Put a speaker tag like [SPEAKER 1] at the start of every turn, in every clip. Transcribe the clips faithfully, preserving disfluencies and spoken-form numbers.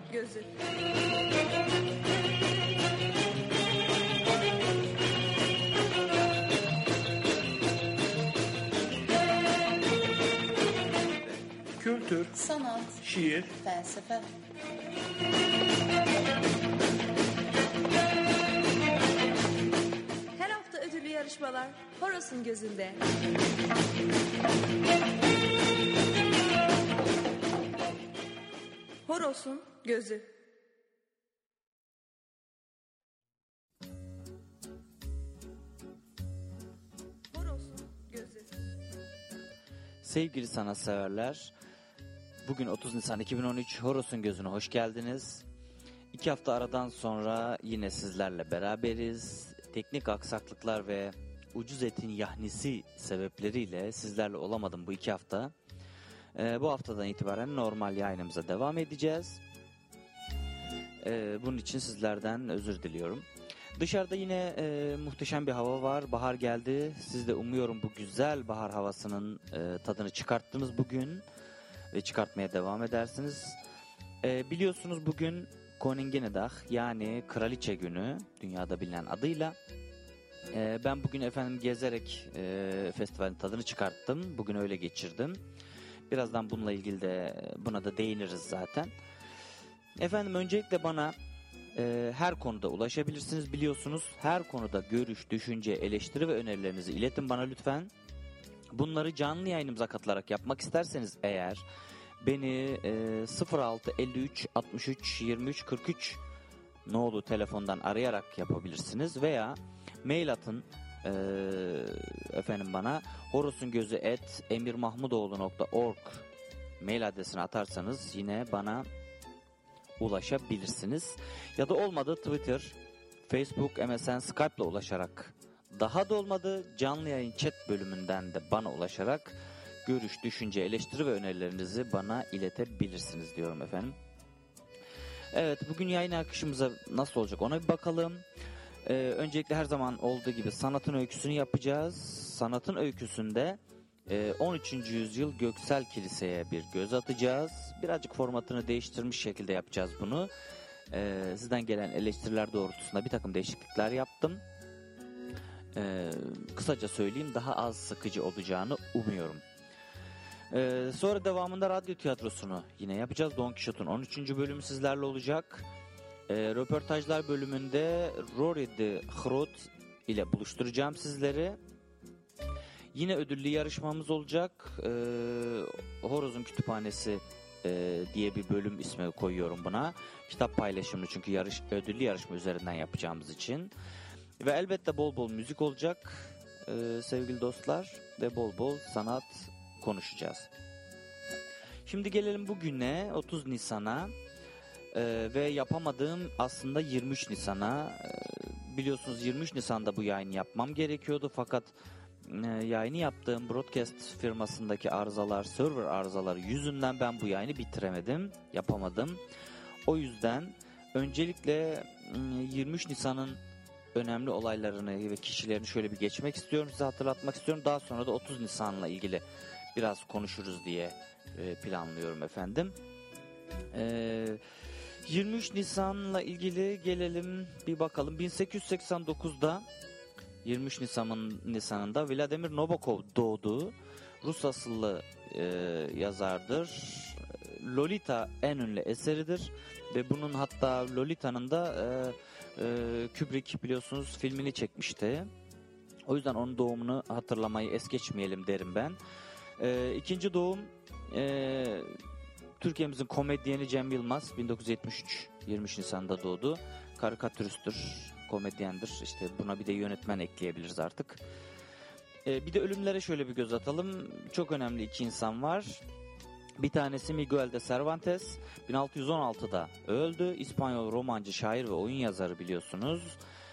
[SPEAKER 1] gözü.
[SPEAKER 2] Kültür,
[SPEAKER 3] sanat,
[SPEAKER 2] şiir,
[SPEAKER 3] felsefe.
[SPEAKER 1] Her hafta ödüllü yarışmalar Horos'un gözünde. Horos'un gözü. Horos'un gözü.
[SPEAKER 4] Sevgili sanatseverler, bugün otuz Nisan iki bin on üç Horos'un gözüne hoş geldiniz. İki hafta aradan sonra yine sizlerle beraberiz. Teknik aksaklıklar ve ucuz etin yahnisi sebepleriyle sizlerle olamadım bu iki hafta. Ee, bu haftadan itibaren normal yayınımıza devam edeceğiz. Ee, bunun için sizlerden özür diliyorum. Dışarıda yine e, muhteşem bir hava var. Bahar geldi. Siz de umuyorum bu güzel bahar havasının e, tadını çıkarttınız bugün. Ve çıkartmaya devam edersiniz. E, biliyorsunuz bugün Koninginnedag, yani Kraliçe Günü, dünyada bilinen adıyla. E, ben bugün efendim gezerek e, festivalin tadını çıkarttım. Bugün öyle geçirdim. Birazdan bununla ilgili de buna da değiniriz zaten. Efendim öncelikle bana e, her konuda ulaşabilirsiniz, biliyorsunuz. Her konuda görüş, düşünce, eleştiri ve önerilerinizi iletin bana lütfen. Bunları canlı yayınımıza katılarak yapmak isterseniz eğer beni e, sıfır altı elli üç altmış üç yirmi üç kırk üç nolu telefondan arayarak yapabilirsiniz veya mail atın e, efendim bana horosungözü et emirmahmudoğlu nokta org mail adresine atarsanız yine bana ulaşabilirsiniz. Ya da olmadı Twitter, Facebook, M S N, Skype ile ulaşarak, daha da olmadı canlı yayın chat bölümünden de bana ulaşarak görüş, düşünce, eleştiri ve önerilerinizi bana iletebilirsiniz diyorum efendim. Evet, bugün yayın akışımıza nasıl olacak ona bir bakalım. Ee, öncelikle her zaman olduğu gibi sanatın öyküsünü yapacağız. Sanatın öyküsünde e, on üçüncü yüzyıl Göksel Kilise'ye bir göz atacağız. Birazcık formatını değiştirmiş şekilde yapacağız bunu. Ee, sizden gelen eleştiriler doğrultusunda bir takım değişiklikler yaptım. Ee, kısaca söyleyeyim, daha az sıkıcı olacağını umuyorum. Ee, sonra devamında radyo tiyatrosunu yine yapacağız. Don Quixote'un on üçüncü bölümü sizlerle olacak. Ee, röportajlar bölümünde Rory de Groot ile buluşturacağım sizleri. Yine ödüllü yarışmamız olacak. Ee, Horoz'un Kütüphanesi e, diye bir bölüm ismi koyuyorum buna. Kitap paylaşımını, çünkü yarış, ödüllü yarışma üzerinden yapacağımız için. Ve elbette bol bol müzik olacak ee, sevgili dostlar. Ve bol bol sanat konuşacağız. Şimdi gelelim bugüne, otuz Nisan'a ee, ve yapamadığım aslında yirmi üç Nisan'a. Ee, biliyorsunuz yirmi üç Nisan'da bu yayını yapmam gerekiyordu, fakat e, yayını yaptığım broadcast firmasındaki arızalar, server arızaları yüzünden ben bu yayını bitiremedim, yapamadım. O yüzden öncelikle yirmi üç Nisan'ın önemli olaylarını ve kişilerini şöyle bir geçmek istiyorum, size hatırlatmak istiyorum. Daha sonra da otuz Nisan'la ilgili biraz konuşuruz diye planlıyorum efendim. Ee, yirmi üç Nisan'la ilgili gelelim bir bakalım. bin sekiz yüz seksen dokuzda yirmi üç Nisan'ın Nisan'ında Vladimir Nabokov doğdu. Rus asıllı e, yazardır. Lolita en ünlü eseridir ve bunun hatta Lolita'nın da e, e, Kubrick biliyorsunuz filmini çekmişti. O yüzden onun doğumunu hatırlamayı es geçmeyelim derim ben. E, ikinci doğum e, Türkiye'mizin komedyeni Cem Yılmaz bin dokuz yüz yetmiş üç yirmi üç Nisan'da doğdu. Karikatüristtir, komedyendir. İşte buna bir de yönetmen ekleyebiliriz artık. E, bir de ölümlere şöyle bir göz atalım. Çok önemli iki insan var. Bir tanesi Miguel de Cervantes, bin altı yüz on altıda öldü. İspanyol romancı, şair ve oyun yazarı biliyorsunuz.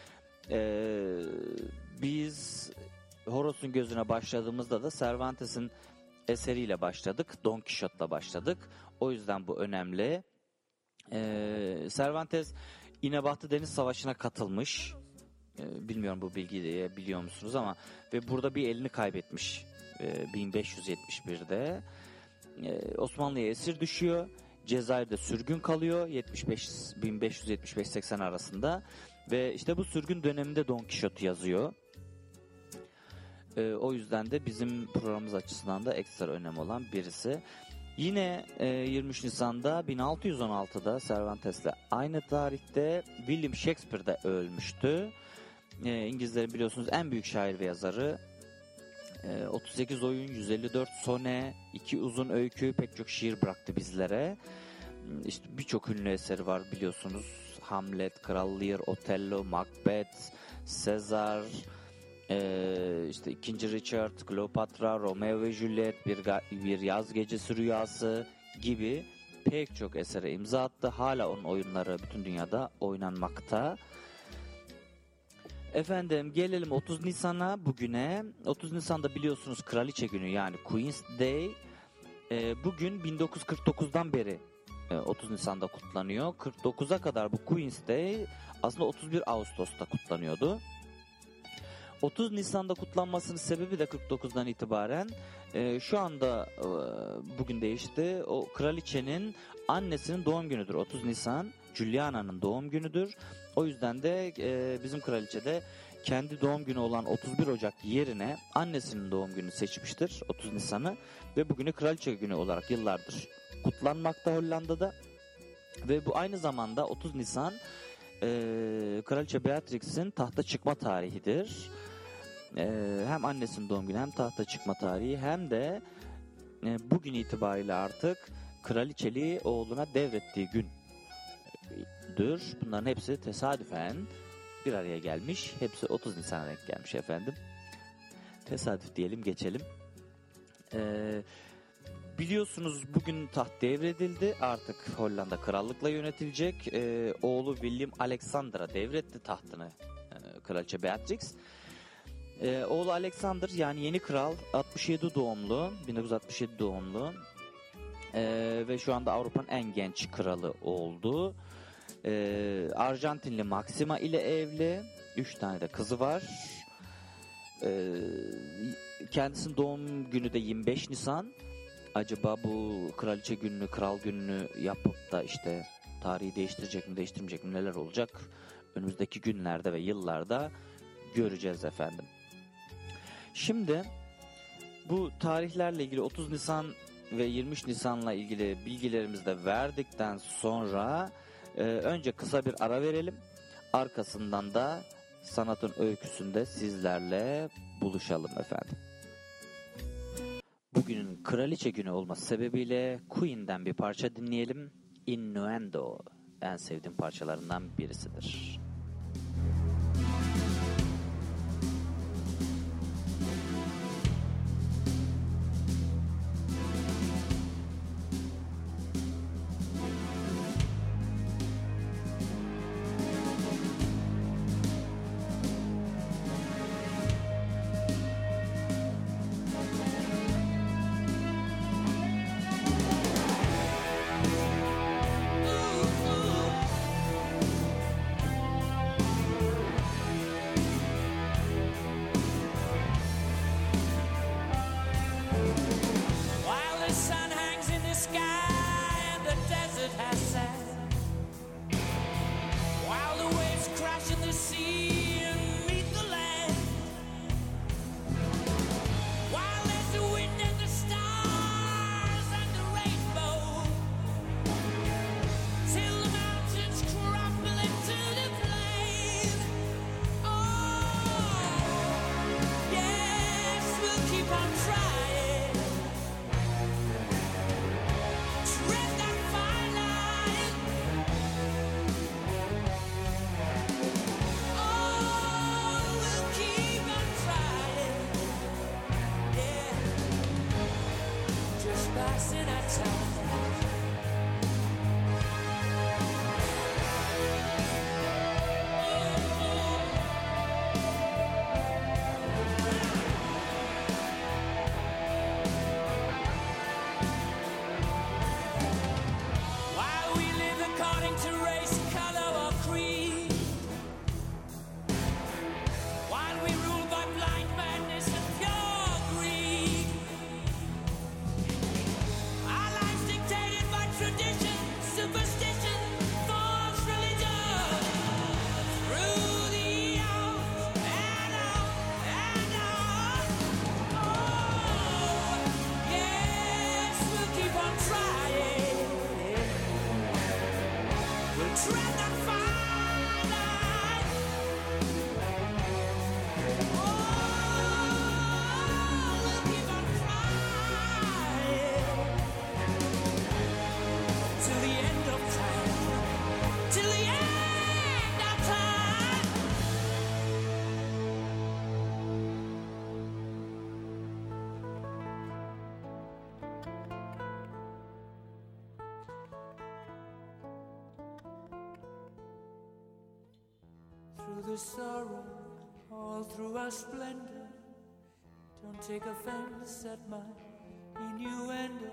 [SPEAKER 4] Ee, biz Horos'un gözüne başladığımızda da Cervantes'in eseriyle başladık. Don Quixote'la başladık. O yüzden bu önemli. Ee, Cervantes İnebahtı Deniz Savaşı'na katılmış. Ee, bilmiyorum bu bilgiyi biliyor musunuz ama ve burada bir elini kaybetmiş ee, bin beş yüz yetmiş birde. Ee, Osmanlı'ya esir düşüyor. Cezayir'de sürgün kalıyor yetmiş beş bin beş yüz yetmiş beş seksen arasında ve işte bu sürgün döneminde Don Quixote yazıyor. Ee, o yüzden de bizim programımız açısından da ekstra önemli olan birisi. Yine e, yirmi üç Nisan'da bin altı yüz on altıda Cervantes'le aynı tarihte William Shakespeare de ölmüştü. E, İngilizlerin biliyorsunuz en büyük şair ve yazarı. E, otuz sekiz oyun, yüz elli dört sone, iki uzun öykü, pek çok şiir bıraktı bizlere. İşte birçok ünlü eseri var biliyorsunuz. Hamlet, Kral Lear, Otello, Macbeth, Sezar, e, işte ikinci Richard, Kleopatra, Romeo ve Juliet, bir, bir yaz gecesi rüyası gibi pek çok esere imza attı. Hala onun oyunları bütün dünyada oynanmakta. Efendim gelelim otuz Nisan'a bugüne. otuz Nisan'da biliyorsunuz Kraliçe Günü yani Queen's Day. E, bugün bin dokuz yüz kırk dokuzdan beri e, otuz Nisan'da kutlanıyor. kırk dokuza kadar bu Queen's Day aslında otuz bir Ağustos'ta kutlanıyordu. otuz Nisan'da kutlanmasının sebebi de kırk dokuzdan itibaren e, şu anda e, bugün değişti. O kraliçenin annesinin doğum günüdür otuz Nisan. Juliana'nın doğum günüdür. O yüzden de e, bizim kraliçe de kendi doğum günü olan otuz bir Ocak yerine annesinin doğum gününü seçmiştir otuz Nisan'ı ve bugünü Kraliçe Günü olarak yıllardır kutlanmakta Hollanda'da. Ve bu aynı zamanda otuz Nisan e, Kraliçe Beatrix'in tahta çıkma tarihidir. E, hem annesinin doğum günü hem tahta çıkma tarihi hem de e, bugün itibariyle artık kraliçeliği oğluna devrettiği gündür. Bunların hepsi tesadüfen bir araya gelmiş. Hepsi otuz Nisan'a denk gelmiş efendim. Tesadüf diyelim geçelim. Ee, biliyorsunuz bugün taht devredildi. Artık Hollanda krallıkla yönetilecek. Ee, oğlu William Alexander'a devretti tahtını e, Kraliçe Beatrix. Ee, oğlu Alexander yani yeni kral altmış yedi doğumlu. bin dokuz yüz altmış yedi doğumlu. Ee, ve şu anda Avrupa'nın en genç kralı oldu. Ee, Arjantinli Maxima ile evli. Üç tane de kızı var. Ee, kendisinin doğum günü de yirmi beş Nisan. Acaba bu kraliçe gününü, kral gününü yapıp da işte tarihi değiştirecek mi, değiştirmeyecek mi, neler olacak? Önümüzdeki günlerde ve yıllarda göreceğiz efendim. Şimdi bu tarihlerle ilgili otuz Nisan ve yirmi üç Nisan'la ilgili bilgilerimizi de verdikten sonra e, önce kısa bir ara verelim. Arkasından da sanatın öyküsünde sizlerle buluşalım efendim. Bugünün kraliçe günü olması sebebiyle Queen'den bir parça dinleyelim. Innuendo en sevdiğim parçalarından birisidir.
[SPEAKER 3] Dictated Through the sorrow, all through our splendor, don't take offense at my innuendo.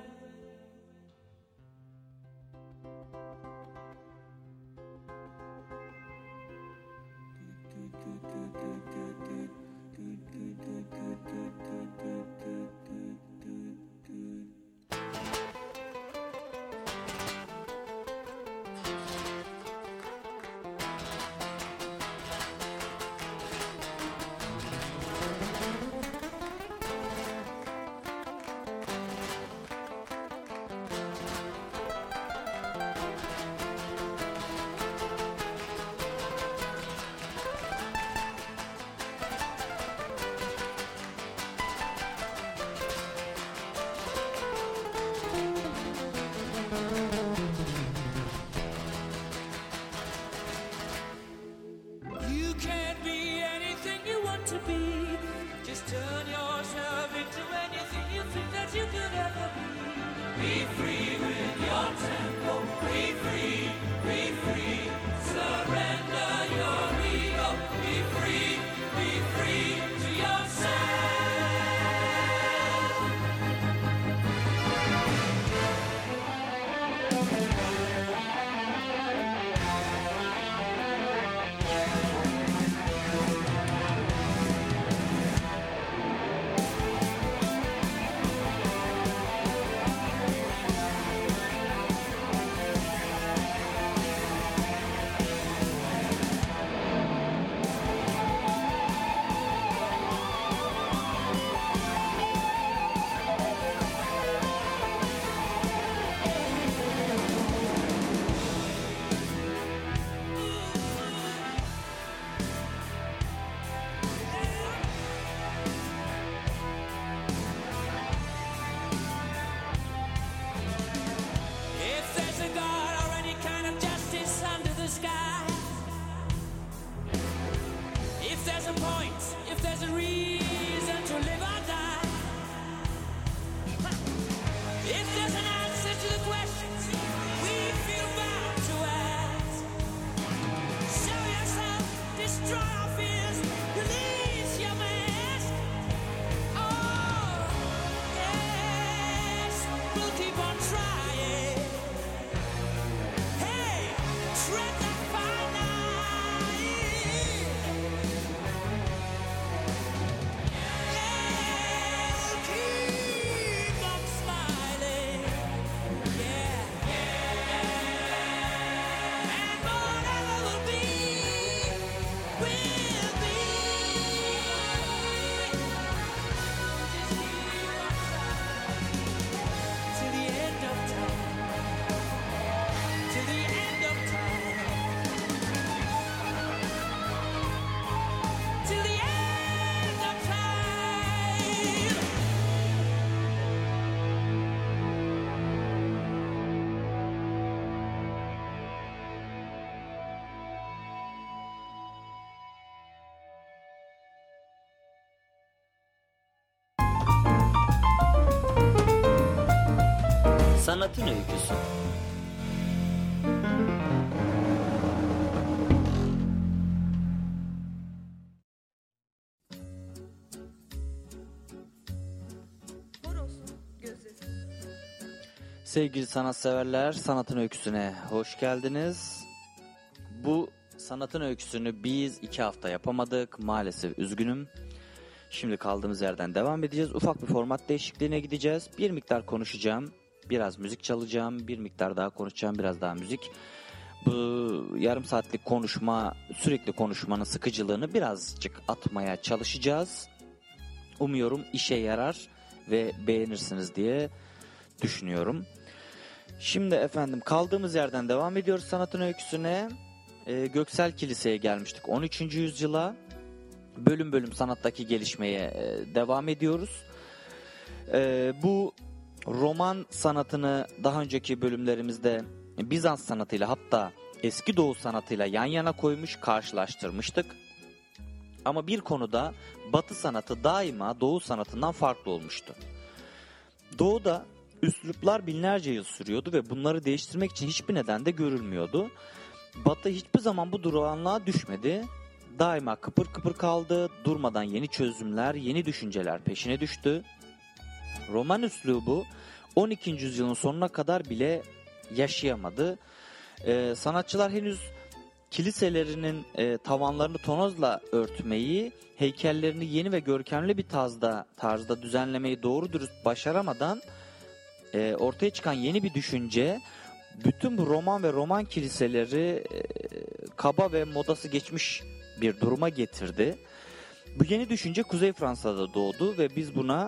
[SPEAKER 4] Sanatın öyküsü.
[SPEAKER 1] Horoz'un gözü.
[SPEAKER 4] Sevgili sanatseverler, Sanatın Öyküsü'ne hoş geldiniz. Bu Sanatın Öyküsü'nü biz iki hafta yapamadık. Maalesef üzgünüm. Şimdi kaldığımız yerden devam edeceğiz. Ufak bir format değişikliğine gideceğiz. Bir miktar konuşacağım. Biraz müzik çalacağım. Bir miktar daha konuşacağım. Biraz daha müzik. Bu yarım saatlik konuşma, sürekli konuşmanın sıkıcılığını birazcık atmaya çalışacağız. Umuyorum işe yarar ve beğenirsiniz diye düşünüyorum. Şimdi efendim kaldığımız yerden devam ediyoruz sanatın öyküsüne. Ee, Göksel Kilise'ye gelmiştik on üçüncü yüzyıla. Bölüm bölüm sanattaki gelişmeye e, devam ediyoruz. E, bu roman sanatını daha önceki bölümlerimizde Bizans sanatıyla, hatta Eski Doğu sanatıyla yan yana koymuş, karşılaştırmıştık. Ama bir konuda Batı sanatı daima Doğu sanatından farklı olmuştu. Doğuda üsluplar binlerce yıl sürüyordu ve bunları değiştirmek için hiçbir neden de görülmüyordu. Batı hiçbir zaman bu durağanlığa düşmedi. Daima kıpır kıpır kaldı, durmadan yeni çözümler, yeni düşünceler peşine düştü. Roman üslubu on ikinci yüzyılın sonuna kadar bile yaşayamadı. Ee, sanatçılar henüz kiliselerinin e, tavanlarını tonozla örtmeyi, heykellerini yeni ve görkemli bir tarzda, tarzda düzenlemeyi doğru dürüst başaramadan e, ortaya çıkan yeni bir düşünce, bütün bu roman ve roman kiliseleri e, kaba ve modası geçmiş bir duruma getirdi. Bu yeni düşünce Kuzey Fransa'da doğdu ve biz buna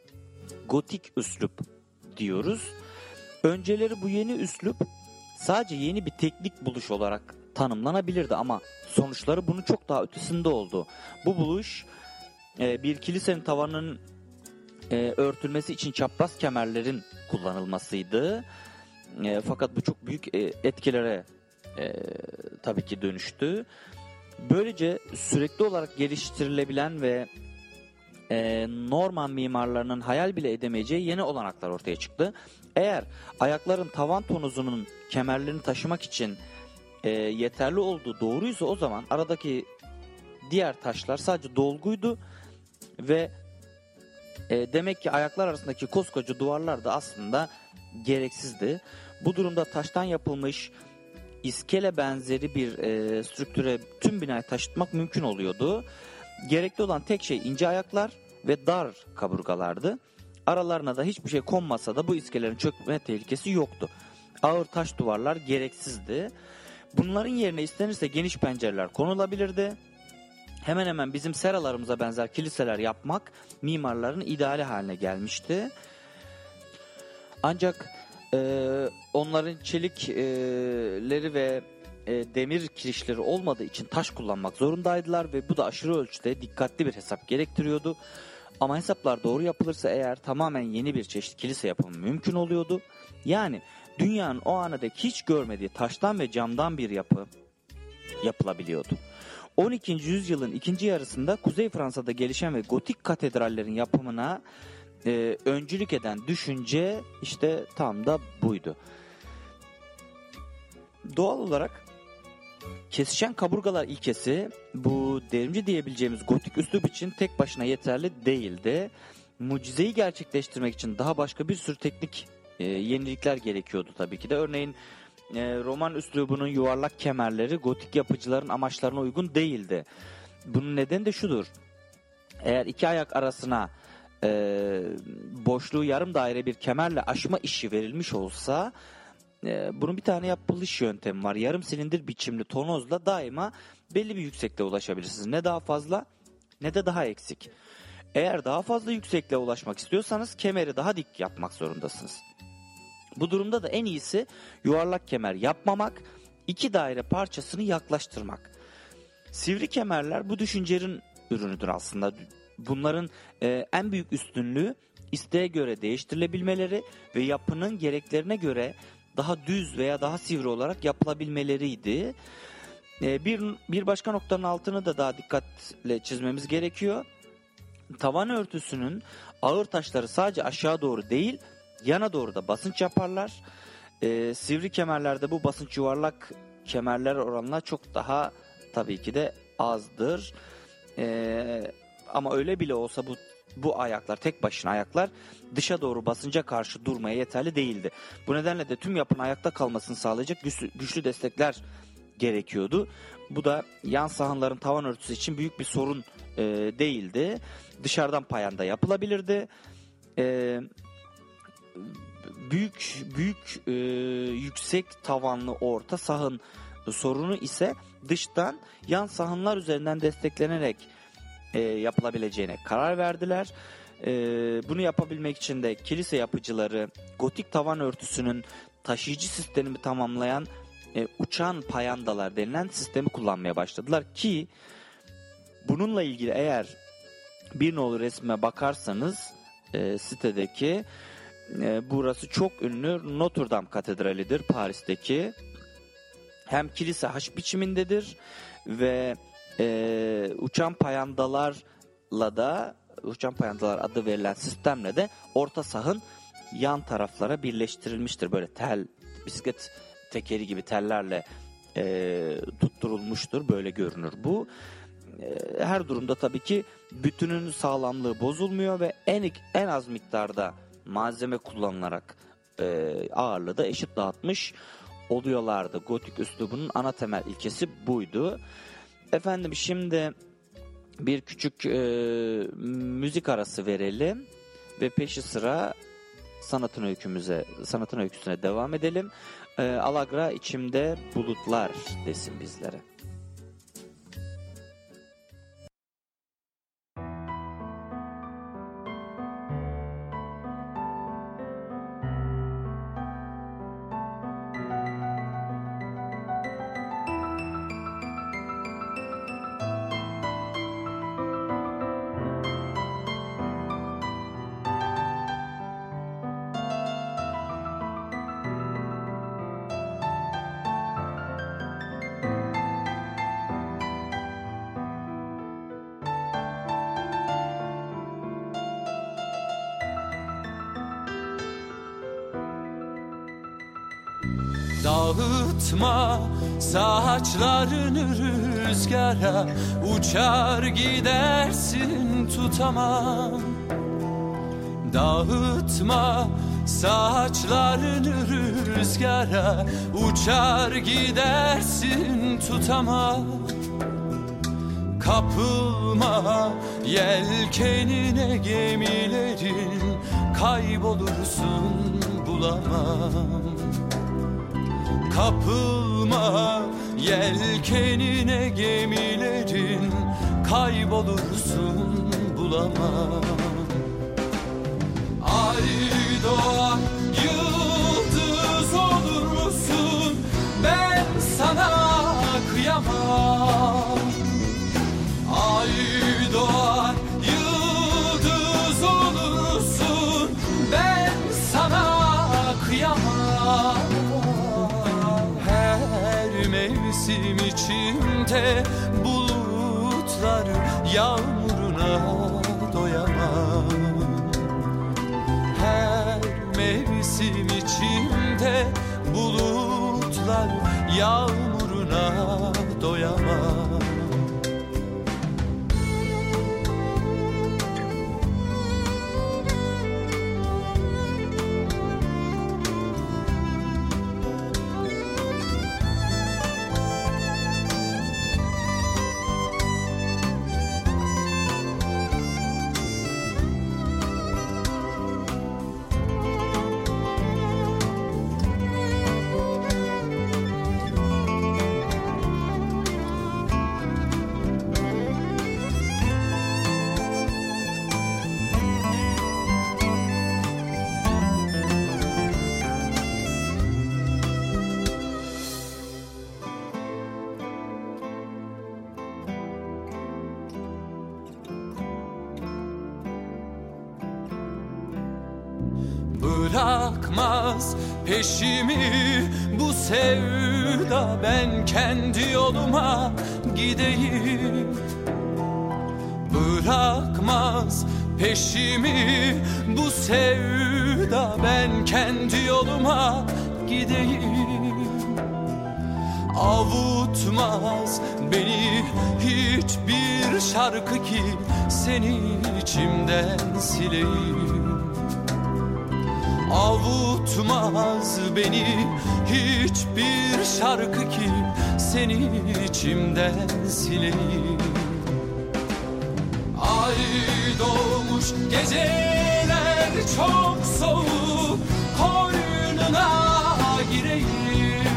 [SPEAKER 4] gotik üslup diyoruz. Önceleri bu yeni üslup sadece yeni bir teknik buluş olarak tanımlanabilirdi ama sonuçları bunun çok daha ötesinde oldu. Bu buluş e, bir kilisenin tavanının e, örtülmesi için çapraz kemerlerin kullanılmasıydı. E, fakat bu çok büyük e, etkilere e, tabii ki dönüştü. Böylece sürekli olarak geliştirilebilen ve e, Norman mimarlarının hayal bile edemeyeceği yeni olanaklar ortaya çıktı. Eğer ayakların tavan tonuzunun kemerlerini taşımak için e, yeterli olduğu doğruysa, o zaman aradaki diğer taşlar sadece dolguydu ve e, demek ki ayaklar arasındaki koskoca duvarlar da aslında gereksizdi. Bu durumda taştan yapılmış iskele benzeri bir e, strüktüre tüm binayı taşıtmak mümkün oluyordu. Gerekli olan tek şey ince ayaklar ve dar kaburgalardı. Aralarına da hiçbir şey konmasa da bu iskelelerin çökme tehlikesi yoktu. Ağır taş duvarlar gereksizdi. Bunların yerine istenirse geniş pencereler konulabilirdi. Hemen hemen bizim seralarımıza benzer kiliseler yapmak mimarların ideali haline gelmişti. Ancak e, onların çelikleri ve e, demir kirişleri olmadığı için taş kullanmak zorundaydılar ve bu da aşırı ölçüde dikkatli bir hesap gerektiriyordu. Ama hesaplar doğru yapılırsa eğer tamamen yeni bir çeşit kilise yapımı mümkün oluyordu. Yani dünyanın o ana dek hiç görmediği taştan ve camdan bir yapı yapılabiliyordu. on ikinci yüzyılın ikinci yarısında Kuzey Fransa'da gelişen ve gotik katedrallerin yapımına e, öncülük eden düşünce işte tam da buydu. Doğal olarak kesişen kaburgalar ilkesi bu devrimci diyebileceğimiz gotik üslup için tek başına yeterli değildi. Mucizeyi gerçekleştirmek için daha başka bir sürü teknik e, yenilikler gerekiyordu tabii ki de. Örneğin e, roman üslubunun yuvarlak kemerleri gotik yapıcıların amaçlarına uygun değildi. Bunun nedeni de şudur: eğer iki ayak arasına e, boşluğu yarım daire bir kemerle aşma işi verilmiş olsa, e, bunun bir tane yapılış yöntemi var. Yarım silindir biçimli tonozla daima belli bir yüksekliğe ulaşabilirsiniz. Ne daha fazla ne de daha eksik. Eğer daha fazla yüksekliğe ulaşmak istiyorsanız kemeri daha dik yapmak zorundasınız. Bu durumda da en iyisi yuvarlak kemer yapmamak, iki daire parçasını yaklaştırmak. Sivri kemerler bu düşüncenin ürünüdür aslında. Bunların e, en büyük üstünlüğü isteğe göre değiştirilebilmeleri ve yapının gereklerine göre daha düz veya daha sivri olarak yapılabilmeleriydi. E, bir, bir başka noktanın altını da daha dikkatle çizmemiz gerekiyor. Tavan örtüsünün ağır taşları sadece aşağı doğru değil, yana doğru da basınç yaparlar. E, sivri kemerlerde bu basınç yuvarlak kemerler oranla çok daha tabii ki de azdır. E, ama öyle bile olsa bu bu ayaklar, tek başına ayaklar dışa doğru basınca karşı durmaya yeterli değildi. Bu nedenle de tüm yapının ayakta kalmasını sağlayacak güçlü, güçlü destekler gerekiyordu. Bu da yan sahanların tavan örtüsü için büyük bir sorun e, değildi. Dışarıdan payanda yapılabilirdi. E, büyük büyük e, yüksek tavanlı orta sahan sorunu ise dıştan yan sahanlar üzerinden desteklenerek e, yapılabileceğine karar verdiler. Ee, bunu yapabilmek için de kilise yapıcıları gotik tavan örtüsünün taşıyıcı sistemini tamamlayan e, uçan payandalar denilen sistemi kullanmaya başladılar ki bununla ilgili eğer bir nolu resme bakarsanız e, sitedeki e, burası çok ünlü Notre Dame Katedrali'dir Paris'teki. Hem kilise haç biçimindedir ve e, uçan payandalarla da uçan payandalar adı verilen sistemle de orta sahın yan taraflara birleştirilmiştir. Böyle tel, bisiklet tekeri gibi tellerle e, tutturulmuştur. Böyle görünür bu. E, her durumda tabii ki bütünün sağlamlığı bozulmuyor ve en en az miktarda malzeme kullanılarak e, ağırlığı da eşit dağıtmış oluyorlardı. Gotik üslubunun ana temel ilkesi buydu. Efendim şimdi bir küçük e, müzik arası verelim ve peşi sıra sanatın öykümüze, sanatın öyküsüne devam edelim. E, Alagra içimde bulutlar desin bizlere.
[SPEAKER 3] Dağıtma saçlarını rüzgara, uçar gidersin tutamam. Dağıtma saçlarını rüzgara, uçar gidersin tutamam. Kapılma yelkenine gemilerin, kaybolursun bulamam. Kapılma yelkenine gemilerin, kaybolursun bulamam. Ay doğan yıldız olur musun? Ben sana kıyamam. Ay doğan yıldız olur musun? Ben sana kıyamam. Mevsim içimde bulutlar yağmuruna doyamam. Her mevsim içimde bulutlar yağmuruna doyamam. Bırakmaz peşimi bu sevda, ben kendi yoluma gideyim. Bırakmaz peşimi bu sevda, ben kendi yoluma gideyim. Avutmaz beni hiçbir şarkı ki seni içimden sileyim. Avutmaz beni hiçbir şarkı ki seni içimden sileyim. Ay doğmuş geceler çok soğuk, koynuna gireyim.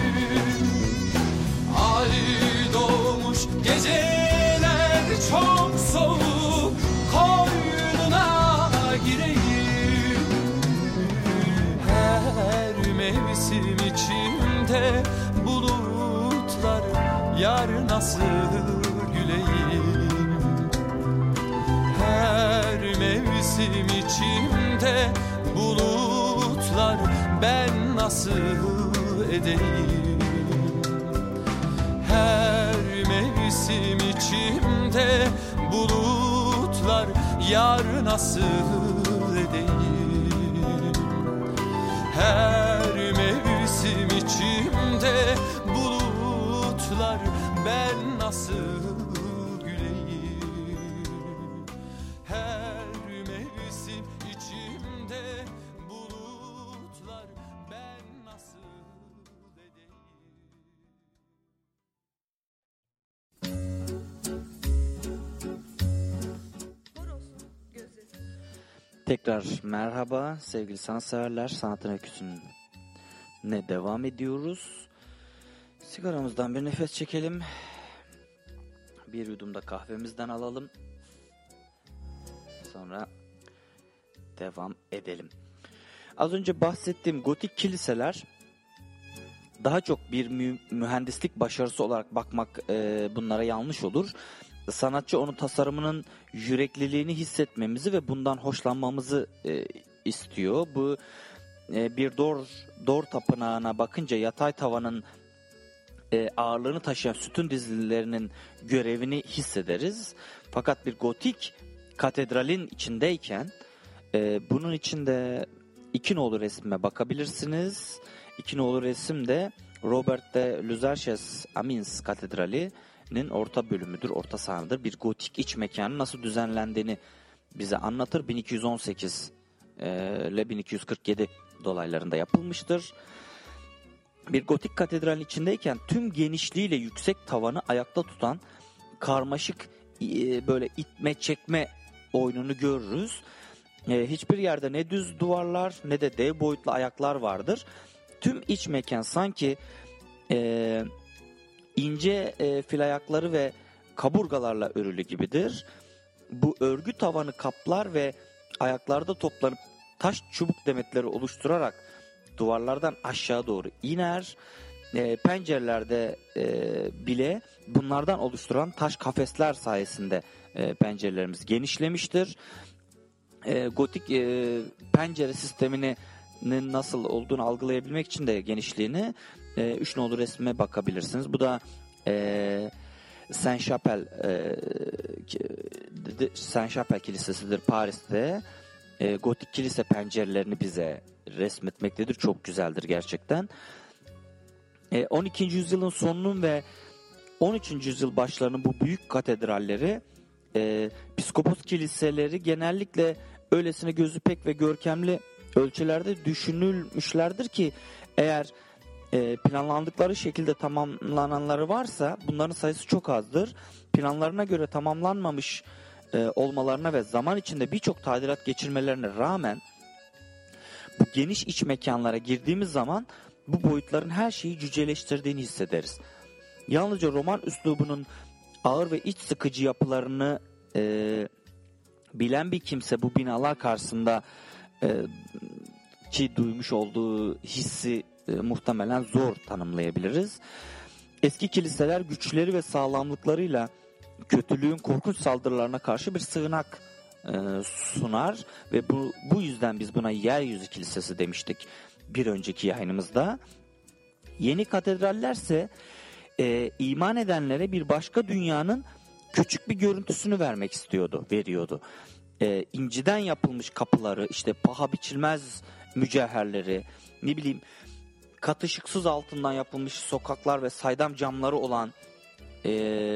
[SPEAKER 3] Ay doğmuş geceler çok soğuk, koynuna mevsim içimde bulutlar, yar nasıl güleyim. Her mevsim içimde bulutlar, ben nasıl edeyim. Her mevsim içimde bulutlar, yar nasıl edeyim. Her mevsim içimde bulutlar, ben nasıl güleyim. Her mevsim içimde bulutlar, ben nasıl edeyim.
[SPEAKER 1] Horosun gözü.
[SPEAKER 4] Tekrar merhaba sevgili sanatseverler. Sanatın öyküsüne devam ediyoruz. Sigaramızdan bir nefes çekelim. Bir yudum da kahvemizden alalım. Sonra devam edelim. Az önce bahsettiğim gotik kiliseler daha çok bir mü- mühendislik başarısı olarak bakmak e, bunlara yanlış olur. Sanatçı onun tasarımının yürekliliğini hissetmemizi ve bundan hoşlanmamızı e, istiyor. Bu e, bir dor dor tapınağına bakınca yatay tavanın e, ağırlığını taşıyan sütun dizilerinin görevini hissederiz. Fakat bir gotik katedralin içindeyken e, bunun içinde iki nolu resme bakabilirsiniz. İki nolu resim de Robert de Luzarches Amiens Katedrali'nin orta bölümüdür, orta sahnıdır. Bir gotik iç mekanın nasıl düzenlendiğini bize anlatır. bin iki yüz on sekiz ile bin iki yüz kırk yedi dolaylarında yapılmıştır. Bir gotik katedralin içindeyken tüm genişliğiyle yüksek tavanı ayakta tutan karmaşık e, böyle itme çekme oyununu görürüz. E, hiçbir yerde ne düz duvarlar ne de dev boyutlu ayaklar vardır. Tüm iç mekan sanki e, ince e, fil ayakları ve kaburgalarla örülü gibidir. Bu örgü tavanı kaplar ve ayaklarda toplanıp taş çubuk demetleri oluşturarak duvarlardan aşağı doğru iner. E, pencerelerde e, bile bunlardan oluşturan taş kafesler sayesinde e, pencerelerimiz genişlemiştir. E, gotik e, pencere sistemini nasıl olduğunu algılayabilmek için de genişliğini e, üç nolu resme bakabilirsiniz. Bu da e, Saint Chapelle e, Saint Chapelle Kilisesi'dir Paris'te. E, gotik kilise pencerelerini bize resmetmektedir. Çok güzeldir gerçekten. E, on ikinci yüzyılın sonunun ve on üçüncü yüzyıl başlarının bu büyük katedralleri, e, piskopos kiliseleri genellikle öylesine gözü pek ve görkemli ölçülerde düşünülmüşlerdir ki eğer e, planlandıkları şekilde tamamlananları varsa bunların sayısı çok azdır. Planlarına göre tamamlanmamış e, olmalarına ve zaman içinde birçok tadilat geçirmelerine rağmen bu geniş iç mekanlara girdiğimiz zaman bu boyutların her şeyi cüceleştirdiğini hissederiz. Yalnızca roman üslubunun ağır ve iç sıkıcı yapılarını e, bilen bir kimse bu binalar karşısında e, ki duymuş olduğu hissi e, muhtemelen zor tanımlayabiliriz. Eski kiliseler güçleri ve sağlamlıklarıyla kötülüğün korkunç saldırılarına karşı bir sığınak e, sunar ve bu bu yüzden biz buna yeryüzü kilisesi demiştik bir önceki yayınımızda. Yeni katedrallerse e, iman edenlere bir başka dünyanın küçük bir görüntüsünü vermek istiyordu, veriyordu. E, inciden yapılmış kapıları, işte paha biçilmez mücevherleri, ne bileyim katışıksız altından yapılmış sokaklar ve saydam camları olan e,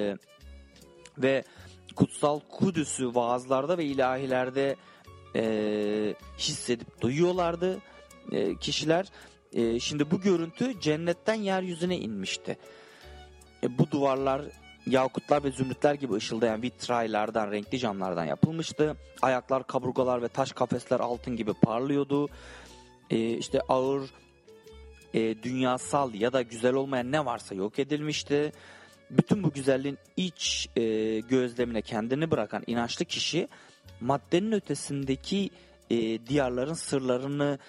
[SPEAKER 4] ve kutsal Kudüs'ü vaazlarda ve ilahilerde e, hissedip duyuyorlardı e, kişiler. E, şimdi bu görüntü cennetten yeryüzüne inmişti. E, bu duvarlar yakutlar ve zümrütler gibi ışıldayan vitraylardan, renkli camlardan yapılmıştı. Ayaklar, kaburgalar ve taş kafesler altın gibi parlıyordu. E, işte ağır, e, dünyasal ya da güzel olmayan ne varsa yok edilmişti. Bütün bu güzelliğin iç e, gözlemine kendini bırakan inançlı kişi maddenin ötesindeki e, diyarların sırlarını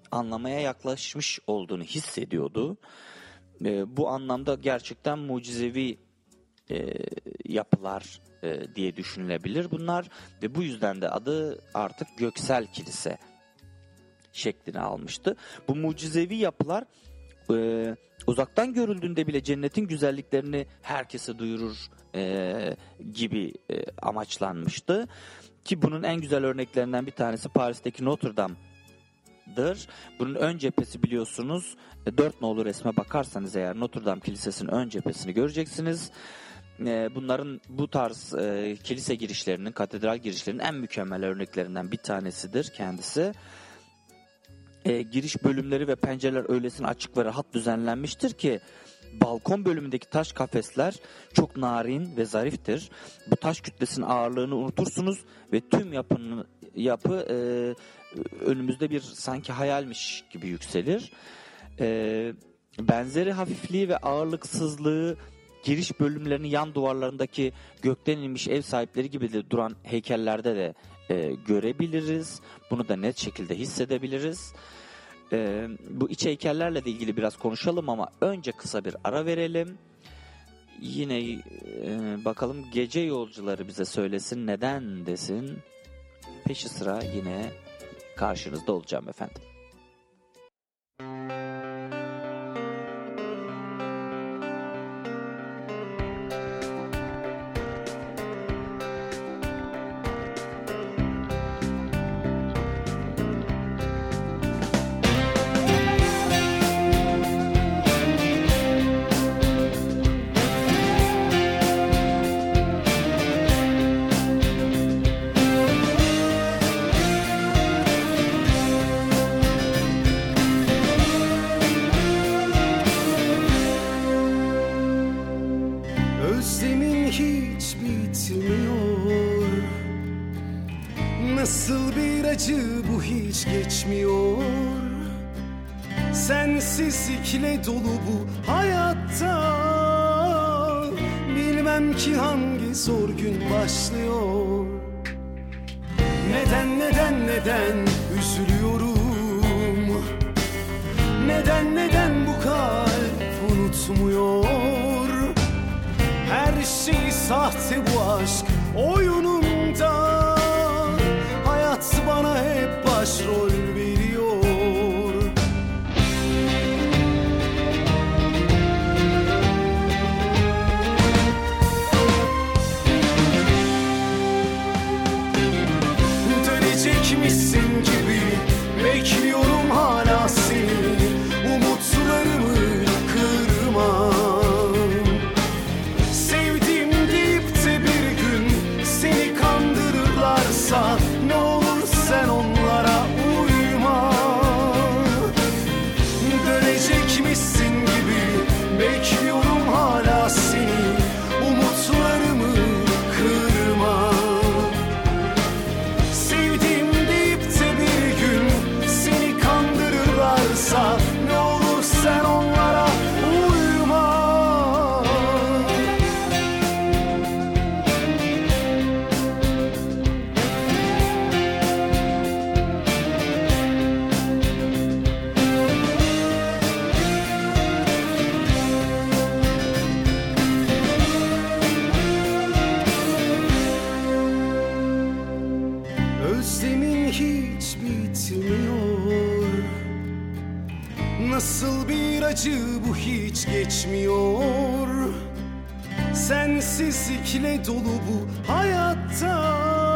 [SPEAKER 4] anlamaya yaklaşmış olduğunu hissediyordu. E, bu anlamda gerçekten mucizevi e, yapılar e, diye düşünülebilir bunlar ve bu yüzden de adı artık Göksel Kilise şeklini almıştı. Bu mucizevi yapılar e, uzaktan görüldüğünde bile cennetin güzelliklerini herkese duyurur e, gibi e, amaçlanmıştı. Ki bunun en güzel örneklerinden bir tanesi Paris'teki Notre Dame'dır. Bunun ön cephesi biliyorsunuz. E, dört nolu resme bakarsanız eğer Notre Dame Kilisesi'nin ön cephesini göreceksiniz. E, bunların bu tarz e, kilise girişlerinin, katedral girişlerinin en mükemmel örneklerinden bir tanesidir kendisi. E, giriş bölümleri ve pencereler öylesine açık ve rahat düzenlenmiştir ki balkon bölümündeki taş kafesler çok narin ve zariftir. Bu taş kütlesinin ağırlığını unutursunuz ve tüm yapının yapı e, önümüzde bir sanki hayalmiş gibi yükselir. E, benzeri hafifliği ve ağırlıksızlığı giriş bölümlerinin yan duvarlarındaki gökten inmiş ev sahipleri gibi de duran heykellerde de e, görebiliriz. Bunu da net şekilde hissedebiliriz. Ee, bu iç heykellerle de ilgili biraz konuşalım ama önce kısa bir ara verelim. Yine e, bakalım gece yolcuları bize söylesin, neden desin. Peşi sıra yine karşınızda olacağım efendim.
[SPEAKER 5] Nasıl bir acı bu hiç geçmiyor. Sensizlikle dolu bu hayatta. Bilmem ki hangi zor gün başlıyor. Neden neden neden üzülüyorum. Neden neden bu kalp unutmuyor. Her şey sahte bu aşk oyununda. Hayat bana hep başrol veriyor. Dönecekmişsin gibi bekliyorum hala seni. Umutlarımı kırma. Sevdim deyip de bir gün seni kandırırlarsa ne olur sen onlara uyma. Dönecekmişsin gibi bekliyorum hala seni. Umutlarımı kırma. Sevdim deyip de bir gün seni kandırırlarsa ne olur sen onlara uyma. Özlemin hiç bitmiyor. Nasıl bir acı bu hiç geçmiyor. Sensizlikle dolu bu hayatta.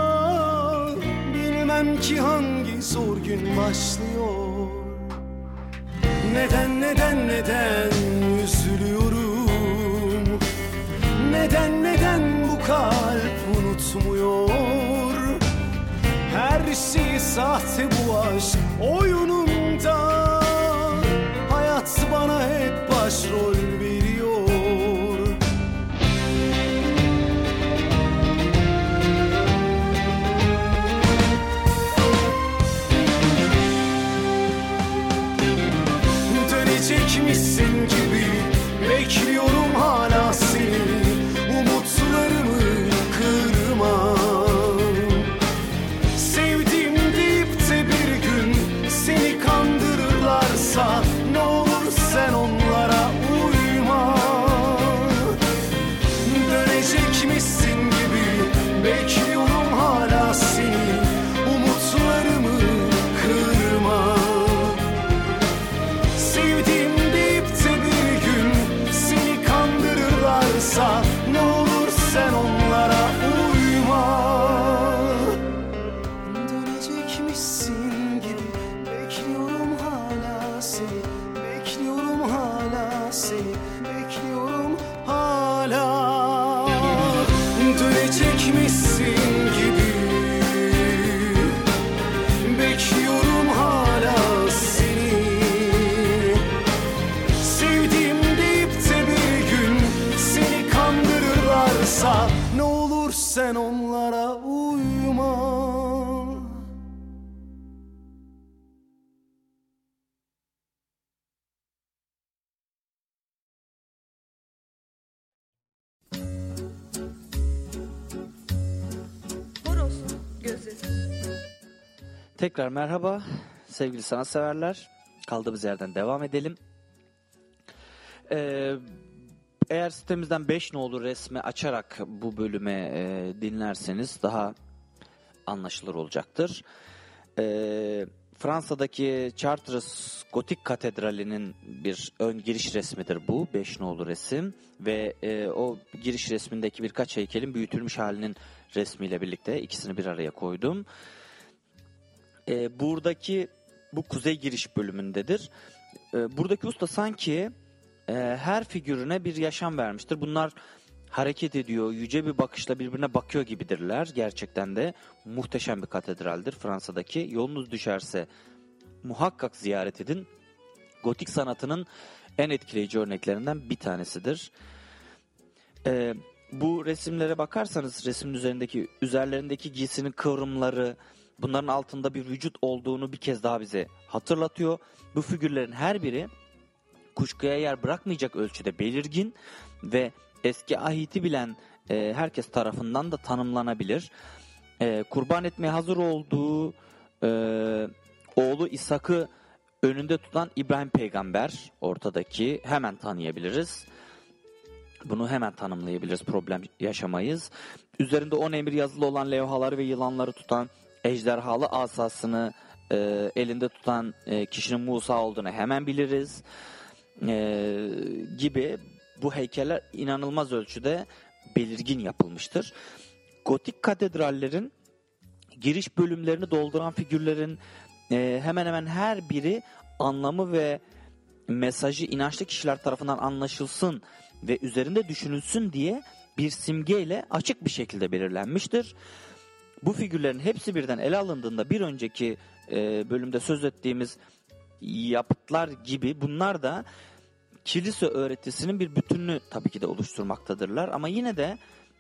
[SPEAKER 5] Bilmem ki hangi zor gün başlıyor. Neden neden neden üzülüyorum. Neden neden bu kalp unutmuyor. Her şey sahte bu aşk oyununda. Hayat bana hep başrol veriyor. Dönecekmişsin gibi bekliyorum hala seni. Umutlarımı kırma. Sevdim deyip de bir gün seni kandırır uygularsa ne olur sen onlara uyma. Dönecekmişsin gibi bekliyorum hala seni, umutlarımı kırma. Sevdim deyip de bir gün seni kandırırlarsa ne olur sen onlara uyma. Dönecekmişsin gibi bekliyorum hala seni, bekliyorum hala seni, bekliyorum hala. Dönecekmişsin gibi bekliyorum hala seni. Sevdim deyip de bir gün seni kandırırlarsa ne olur sen onlara uyma.
[SPEAKER 1] Horoz'un gözü.
[SPEAKER 4] Tekrar merhaba sevgili sanatseverler. Kaldığımız yerden devam edelim. Ee, eğer sitemizden beş nolu resmi açarak bu bölüme e, dinlerseniz daha anlaşılır olacaktır. Ee, Fransa'daki Chartres Gotik Katedrali'nin bir ön giriş resmidir bu. beş nolu resim ve e, o giriş resmindeki birkaç heykelin büyütülmüş halinin resmiyle birlikte ikisini bir araya koydum. E, buradaki bu kuzey giriş bölümündedir. E, buradaki usta sanki e, her figürüne bir yaşam vermiştir. Bunlar hareket ediyor, yüce bir bakışla birbirine bakıyor gibidirler. Gerçekten de muhteşem bir katedraldir Fransa'daki. Yolunuz düşerse muhakkak ziyaret edin. Gotik sanatının en etkileyici örneklerinden bir tanesidir. E, bu resimlere bakarsanız resmin üzerindeki üzerlerindeki giysinin kıvrımları, bunların altında bir vücut olduğunu bir kez daha bize hatırlatıyor. Bu figürlerin her biri kuşkuya yer bırakmayacak ölçüde belirgin ve eski ahiti bilen e, herkes tarafından da tanımlanabilir. E, kurban etmeye hazır olduğu e, oğlu İshak'ı önünde tutan İbrahim peygamber ortadaki, hemen tanıyabiliriz. Bunu hemen tanımlayabiliriz, problem yaşamayız. Üzerinde on emir yazılı olan levhaları ve yılanları tutan, ejderhalı asasını e, elinde tutan e, kişinin Musa olduğunu hemen biliriz. E, gibi bu heykeller inanılmaz ölçüde belirgin yapılmıştır. Gotik katedrallerin giriş bölümlerini dolduran figürlerin e, hemen hemen her biri anlamı ve mesajı inançlı kişiler tarafından anlaşılsın ve üzerinde düşünülsün diye bir simgeyle açık bir şekilde belirlenmiştir. Bu figürlerin hepsi birden ele alındığında bir önceki e, bölümde söz ettiğimiz yapıtlar gibi bunlar da kilise öğretisinin bir bütününü tabii ki de oluşturmaktadırlar. Ama yine de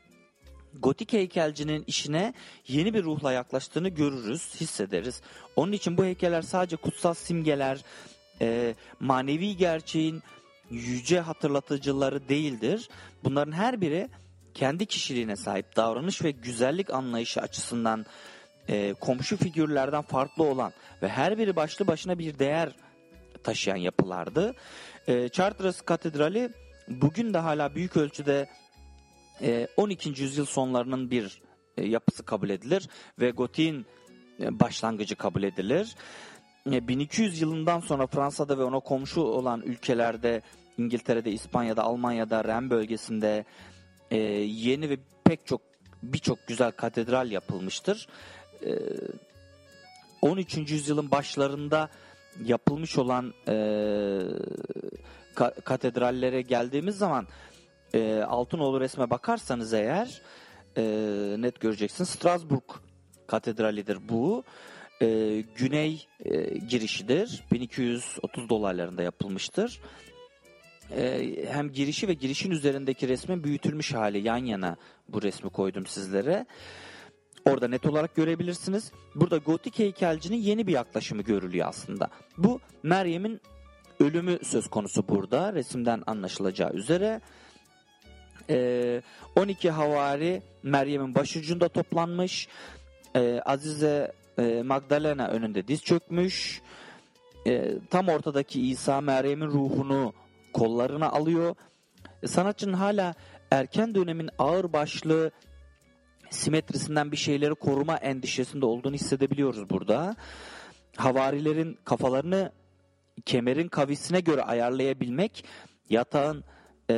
[SPEAKER 4] gotik heykelcinin işine yeni bir ruhla yaklaştığını görürüz, hissederiz. Onun için bu heykeller sadece kutsal simgeler, e, manevi gerçeğin yüce hatırlatıcıları değildir. Bunların her biri kendi kişiliğine sahip, davranış ve güzellik anlayışı açısından e, komşu figürlerden farklı olan ve her biri başlı başına bir değer taşıyan yapılardı. E, Chartres Katedrali bugün de hala büyük ölçüde e, on ikinci yüzyıl sonlarının bir e, yapısı kabul edilir ve gotiğin e, başlangıcı kabul edilir. E, bin iki yüz yılından sonra Fransa'da ve ona komşu olan ülkelerde, İngiltere'de, İspanya'da, Almanya'da, Ren bölgesinde e, yeni ve pek çok birçok güzel katedral yapılmıştır. E, on üçüncü yüzyılın başlarında yapılmış olan e, ka- katedrallere geldiğimiz zaman e, Altınoğlu resme bakarsanız eğer e, net göreceksiniz. Strasbourg Katedrali'dir bu. E, güney e, girişidir. bin iki yüz otuz dolaylarında yapılmıştır. E, hem girişi ve girişin üzerindeki resmin büyütülmüş hali yan yana bu resmi koydum sizlere. Orada net olarak görebilirsiniz. Burada gotik heykelcinin yeni bir yaklaşımı görülüyor aslında. Bu Meryem'in ölümü söz konusu burada. Resimden anlaşılacağı üzere. Ee, on iki havari Meryem'in başucunda toplanmış. Ee, Azize e, Magdalena önünde diz çökmüş. e, tam ortadaki İsa Meryem'in ruhunu kollarına alıyor. E, sanatçının hala erken dönemin ağırbaşlı simetrisinden bir şeyleri koruma endişesinde olduğunu hissedebiliyoruz burada. Havarilerin kafalarını kemerin kavisine göre ayarlayabilmek, yatağın e,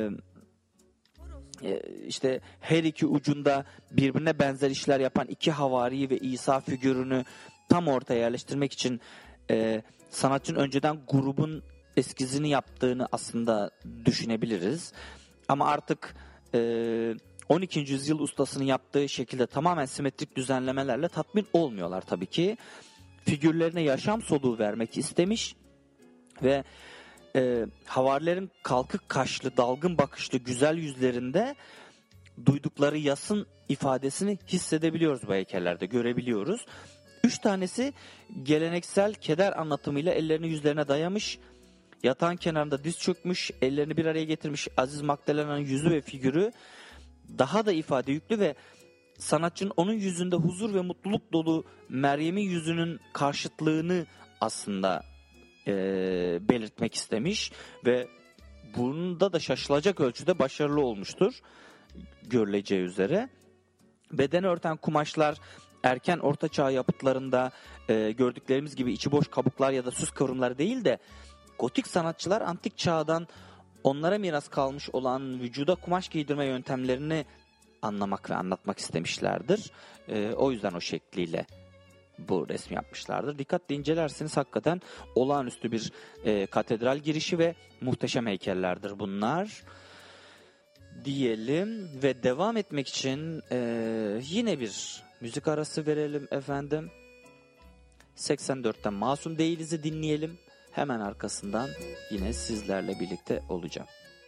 [SPEAKER 4] e, işte her iki ucunda birbirine benzer işler yapan iki havari ve İsa figürünü tam ortaya yerleştirmek için e, sanatçının önceden grubun eskizini yaptığını aslında düşünebiliriz. Ama artık e, on ikinci yüzyıl ustasının yaptığı şekilde tamamen simetrik düzenlemelerle tatmin olmuyorlar tabii ki. Figürlerine yaşam soluğu vermek istemiş ve e, havarilerin kalkık kaşlı, dalgın bakışlı güzel yüzlerinde duydukları yasın ifadesini hissedebiliyoruz bu heykellerde, görebiliyoruz. Üç tanesi geleneksel keder anlatımıyla ellerini yüzlerine dayamış, yatağın kenarında diz çökmüş, ellerini bir araya getirmiş Aziz Magdalena'nın yüzü ve figürü daha da ifade yüklü ve sanatçının onun yüzünde huzur ve mutluluk dolu Meryem'in yüzünün karşıtlığını aslında e, belirtmek istemiş ve bunda da şaşılacak ölçüde başarılı olmuştur görüleceği üzere. Bedeni örten kumaşlar erken ortaçağ yapıtlarında e, gördüklerimiz gibi içi boş kabuklar ya da süs kıvrımları değil de gotik sanatçılar antik çağdan onlara miras kalmış olan vücuda kumaş giydirme yöntemlerini anlamak ve anlatmak istemişlerdir. E, o yüzden o şekliyle bu resmi yapmışlardır. Dikkatle incelerseniz hakikaten olağanüstü bir e, katedral girişi ve muhteşem heykellerdir bunlar. Diyelim ve devam etmek için e, yine bir müzik arası verelim efendim. seksen dörtten Masum Değiliz'i dinleyelim. Hemen arkasından yine sizlerle birlikte olacağım.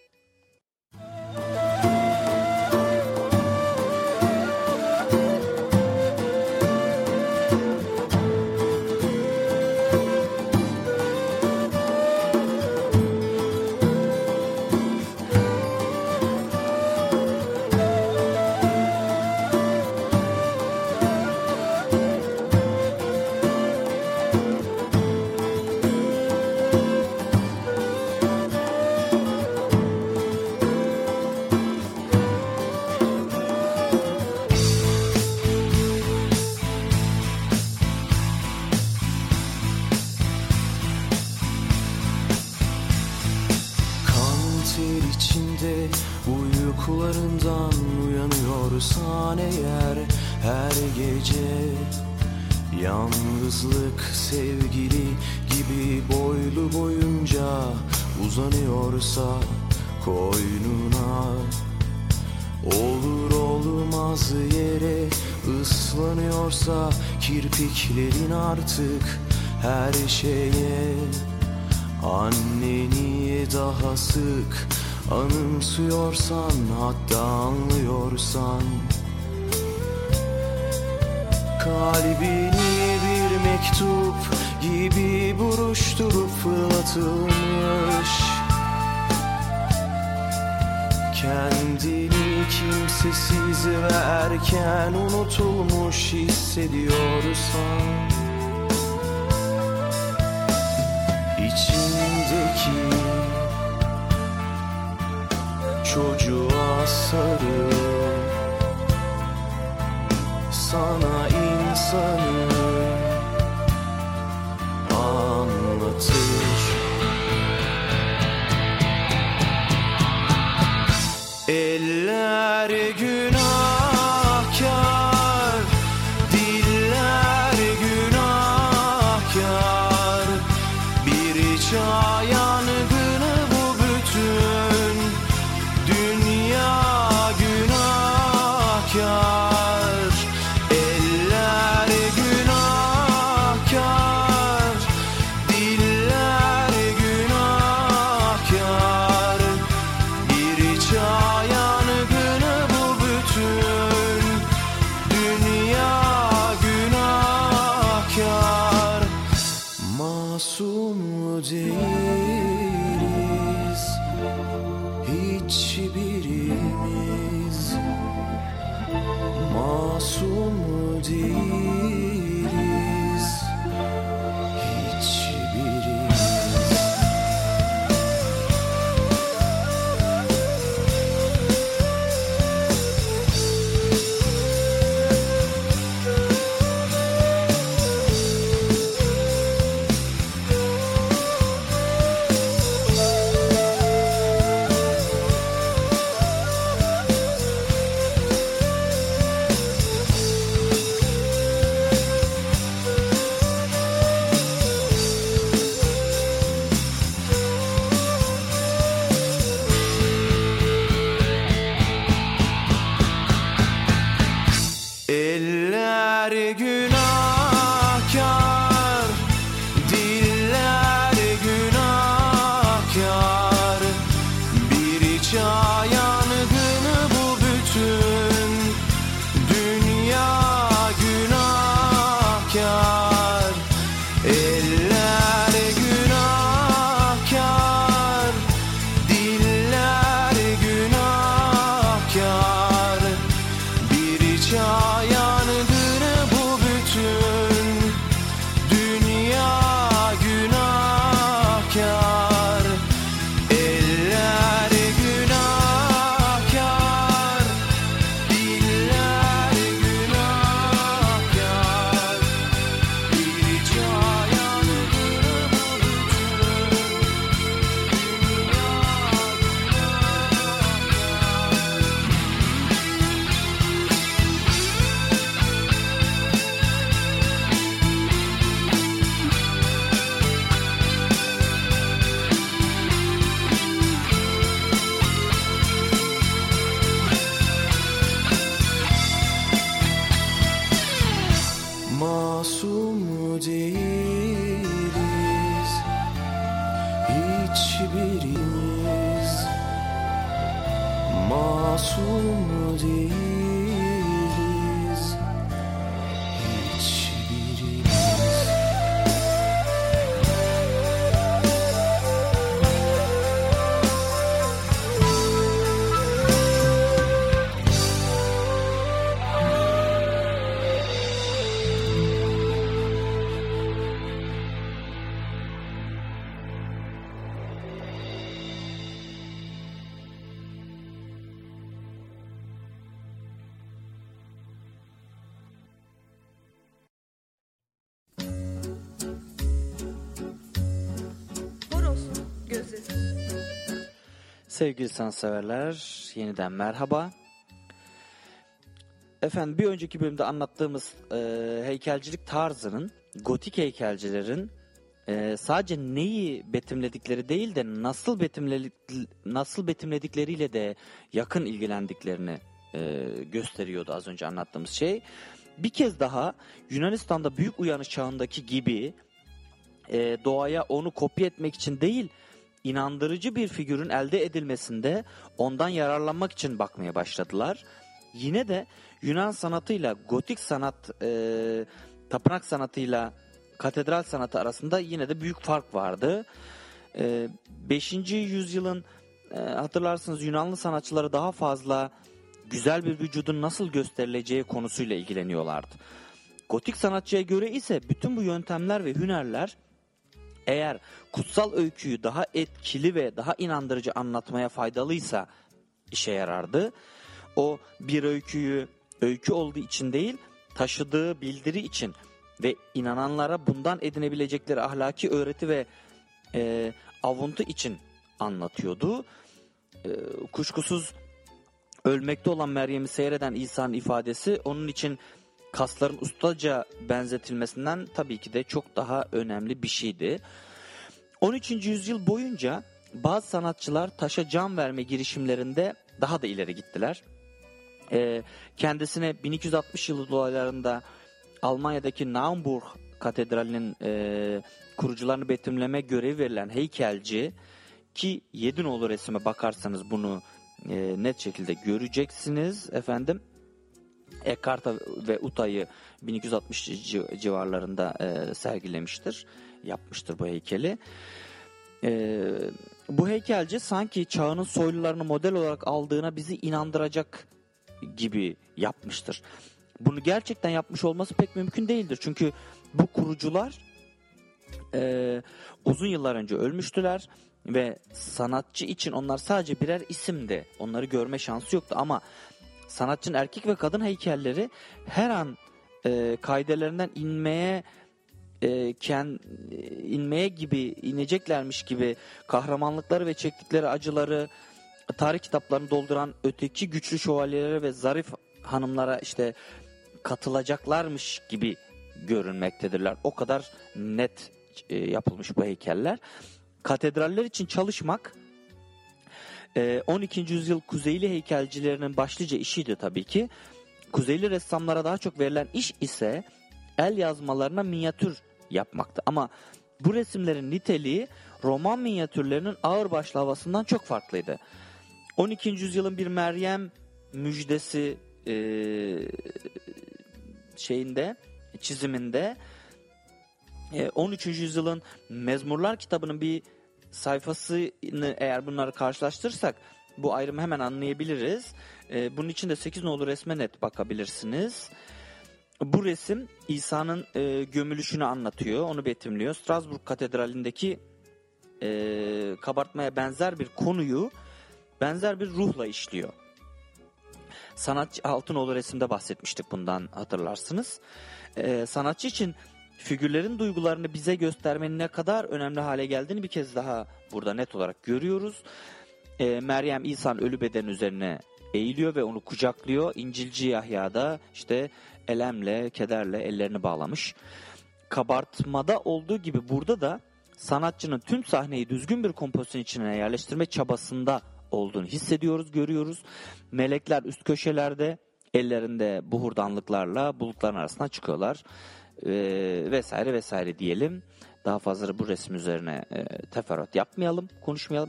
[SPEAKER 5] Uykularından uyanıyorsan eğer her gece yalnızlık sevgili gibi boylu boyunca uzanıyorsa koynuna, olur olmaz yere ıslanıyorsa kirpiklerin artık her şeye, anneni daha sık anımsıyorsan, hatta anlıyorsan, kalbini bir mektup gibi buruşturup fırlatılmış, kendini kimsesiz ve erken unutulmuş hissediyorsan, içindeki çocuğa sarıl, sana insanı anlatır. Eller günahkar, diller günahkar, bir çağ yangını bu bütün dünya günahkar. Eller günahkar, hiçbirimiz masum değiliz, hiçbirimiz.
[SPEAKER 1] Horoz'un gözleri.
[SPEAKER 4] Sevgili sanatseverler, yeniden merhaba. Efendim bir önceki bölümde anlattığımız e, heykelcilik tarzının, gotik heykelcilerin e, sadece neyi betimledikleri değil de nasıl betimledik, nasıl betimledikleriyle de yakın ilgilendiklerini e, gösteriyordu az önce anlattığımız şey. Bir kez daha Yunanistan'da büyük uyanış çağındaki gibi e, doğaya onu kopya etmek için değil, inandırıcı bir figürün elde edilmesinde ondan yararlanmak için bakmaya başladılar. Yine de Yunan sanatıyla gotik sanat, e, tapınak sanatıyla katedral sanatı arasında yine de büyük fark vardı. E, beşinci yüzyılın e, hatırlarsınız Yunanlı sanatçıları daha fazla güzel bir vücudun nasıl gösterileceği konusuyla ilgileniyorlardı. Gotik sanatçıya göre ise bütün bu yöntemler ve hünerler eğer kutsal öyküyü daha etkili ve daha inandırıcı anlatmaya faydalıysa işe yarardı. O bir öyküyü öykü olduğu için değil, taşıdığı bildiri için ve inananlara bundan edinebilecekleri ahlaki öğreti ve e, avuntu için anlatıyordu. E, kuşkusuz ölmekte olan Meryem'i seyreden İsa'nın ifadesi onun için kasların ustaca benzetilmesinden tabii ki de çok daha önemli bir şeydi. on üçüncü yüzyıl boyunca bazı sanatçılar taşa can verme girişimlerinde daha da ileri gittiler. Ee, kendisine bin iki yüz altmış yılı dolaylarında Almanya'daki Naumburg Katedrali'nin e, kurucularını betimleme görevi verilen heykelci, ki yedi nolu resime bakarsanız bunu e, net şekilde göreceksiniz efendim. Ekarta ve Uta'yı bin iki yüz altmış civarlarında e, sergilemiştir, yapmıştır bu heykeli. E, bu heykelci sanki çağının soylularını model olarak aldığına bizi inandıracak gibi yapmıştır. Bunu gerçekten yapmış olması pek mümkün değildir. Çünkü bu kurucular e, uzun yıllar önce ölmüştüler ve sanatçı için onlar sadece birer isimdi. Onları görme şansı yoktu ama sanatçının erkek ve kadın heykelleri her an e, kaidelerinden inmeye e, kend, inmeye gibi ineceklermiş gibi kahramanlıkları ve çektikleri acıları tarih kitaplarını dolduran öteki güçlü şövalyelere ve zarif hanımlara işte katılacaklarmış gibi görünmektedirler. O kadar net e, yapılmış bu heykeller. Katedraller için çalışmak on ikinci yüzyıl Kuzeyli heykelcilerinin başlıca işiydi tabii ki. Kuzeyli ressamlara daha çok verilen iş ise el yazmalarına minyatür yapmaktı. Ama bu resimlerin niteliği Roman minyatürlerinin ağırbaşlı havasından çok farklıydı. on ikinci yüzyılın bir Meryem müjdesi e, şeyinde, çiziminde e, on üçüncü yüzyılın Mezmurlar kitabının bir sayfasını eğer bunları karşılaştırırsak bu ayrımı hemen anlayabiliriz. Ee, bunun için de sekiz nolu resme net bakabilirsiniz. Bu resim İsa'nın e, gömülüşünü anlatıyor, onu betimliyor. Strasbourg Katedrali'ndeki e, kabartmaya benzer bir konuyu benzer bir ruhla işliyor. Sanatçı Altınoğlu resimde bahsetmiştik bundan, hatırlarsınız. Ee, sanatçı için figürlerin duygularını bize göstermenin ne kadar önemli hale geldiğini bir kez daha burada net olarak görüyoruz. Ee, Meryem İsa'nın ölü bedeni üzerine eğiliyor ve onu kucaklıyor. İncilci Yahya da işte elemle, kederle ellerini bağlamış. Kabartmada olduğu gibi burada da sanatçının tüm sahneyi düzgün bir kompozisyon içine yerleştirme çabasında olduğunu hissediyoruz, görüyoruz. Melekler üst köşelerde ellerinde buhurdanlıklarla bulutların arasına çıkıyorlar. Ee, vesaire vesaire diyelim. Daha fazla bu resim üzerine e, teferruat yapmayalım, konuşmayalım.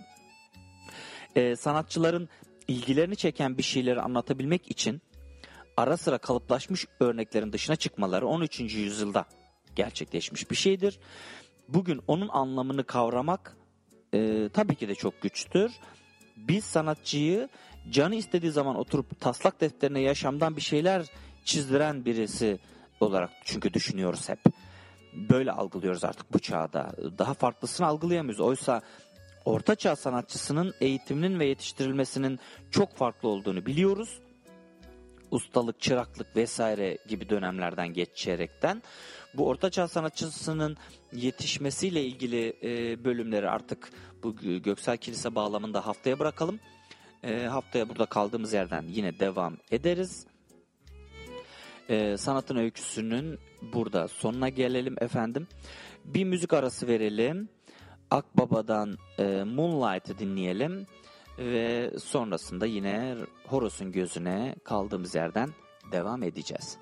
[SPEAKER 4] E, sanatçıların ilgilerini çeken bir şeyleri anlatabilmek için ara sıra kalıplaşmış örneklerin dışına çıkmaları on üçüncü yüzyılda gerçekleşmiş bir şeydir. Bugün onun anlamını kavramak e, tabii ki de çok güçtür. Biz sanatçıyı canı istediği zaman oturup taslak defterine yaşamdan bir şeyler çizdiren birisi olarak çünkü düşünüyoruz hep. Böyle algılıyoruz artık bu çağda. Daha farklısını algılayamıyoruz. Oysa Orta Çağ sanatçısının eğitiminin ve yetiştirilmesinin çok farklı olduğunu biliyoruz. Ustalık, çıraklık vesaire gibi dönemlerden geçerekten bu Orta Çağ sanatçısının yetişmesiyle ilgili e, bölümleri artık bu Göksel Kilise bağlamında haftaya bırakalım. E, haftaya burada kaldığımız yerden yine devam ederiz. E, sanatın öyküsünün burada sonuna gelelim efendim. Bir müzik arası verelim. Akbaba'dan e, Moonlight'ı dinleyelim. Ve sonrasında yine Horus'un gözüne kaldığımız yerden devam edeceğiz.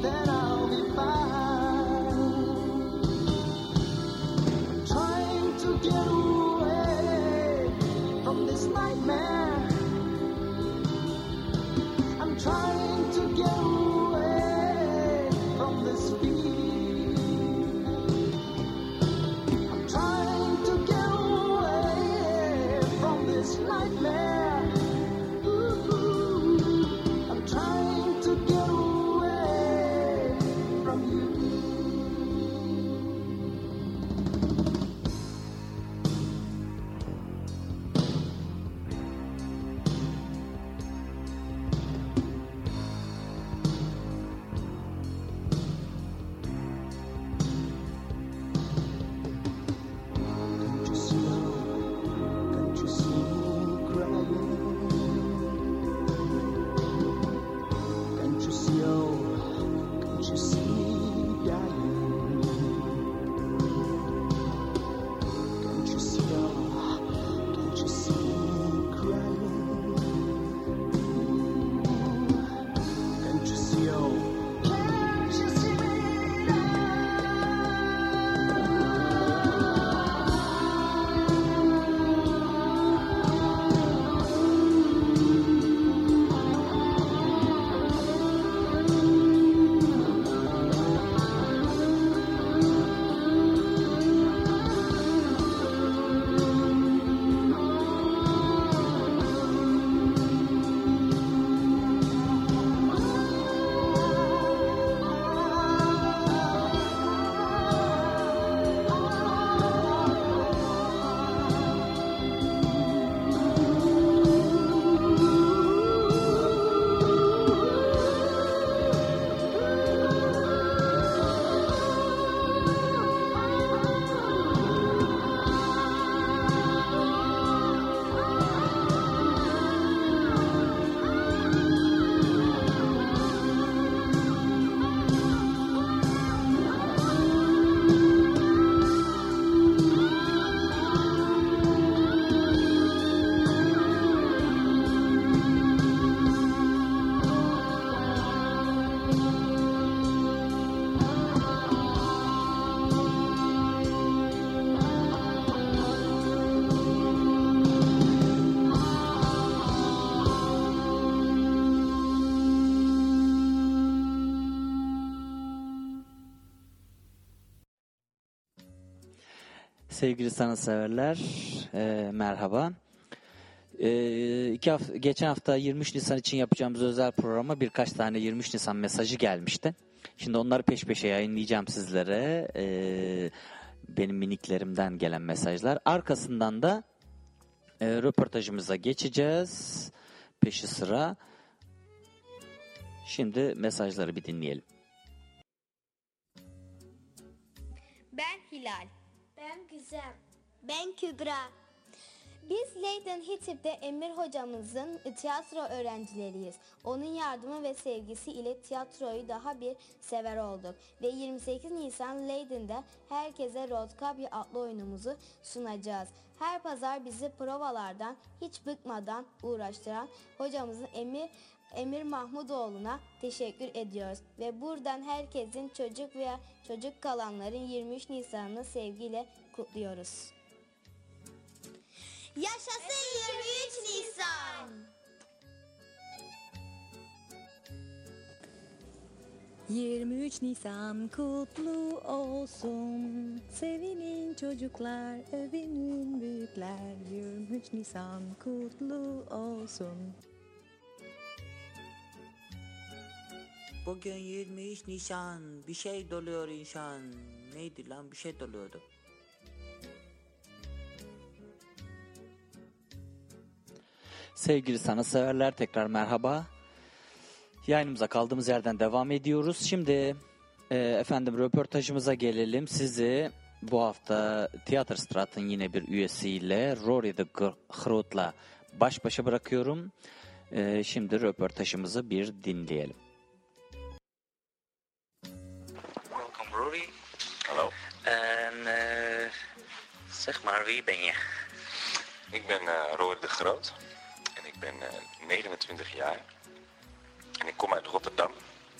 [SPEAKER 5] Trying to
[SPEAKER 4] Sevgili sanatseverler, e, merhaba. E, iki hafta, geçen hafta yirmi üç Nisan için yapacağımız özel programa birkaç tane yirmi üç Nisan mesajı gelmişti. Şimdi onları peş peşe yayınlayacağım sizlere. E, benim miniklerimden gelen mesajlar. Arkasından da e, röportajımıza geçeceğiz. Peşi sıra. Şimdi mesajları bir dinleyelim.
[SPEAKER 1] Ben Hilal.
[SPEAKER 6] Ben Güzem. Ben Kübra. Biz Leiden Hitip'te Emir hocamızın tiyatro öğrencileriyiz. Onun yardımı ve sevgisi ile tiyatroyu daha bir sever olduk. Ve yirmi sekiz Nisan Leiden'de herkese Rotkabya adlı oyunumuzu sunacağız. Her pazar bizi provalardan hiç bıkmadan uğraştıran hocamızın Emir Emir Mahmudoğlu'na teşekkür ediyoruz. Ve buradan herkesin çocuk veya çocuk kalanların yirmi üç Nisan'ını sevgiyle kutluyoruz.
[SPEAKER 1] Yaşasın yirmi üç Nisan.
[SPEAKER 7] yirmi üç Nisan kutlu olsun. Sevinin çocuklar, övünün büyükler. yirmi üç Nisan kutlu olsun.
[SPEAKER 8] Bugün yirmi üç Nisan, bir şey doluyor insan. Neydi lan, bir şey doluyordu.
[SPEAKER 4] Sevgili sanatseverler, tekrar merhaba. Yayınımıza kaldığımız yerden devam ediyoruz. Şimdi e, efendim röportajımıza gelelim. Sizi bu hafta Theaterstrat'ın yine bir üyesiyle Rory de Groot'la baş başa bırakıyorum. E, şimdi röportajımızı bir dinleyelim.
[SPEAKER 9] Welkom Rory.
[SPEAKER 10] Hallo.
[SPEAKER 9] En uh, zeg maar, wie ben je?
[SPEAKER 10] Ik ben uh, Rory de Groot en ik ben uh, negenentwintig jaar en ik kom uit Rotterdam.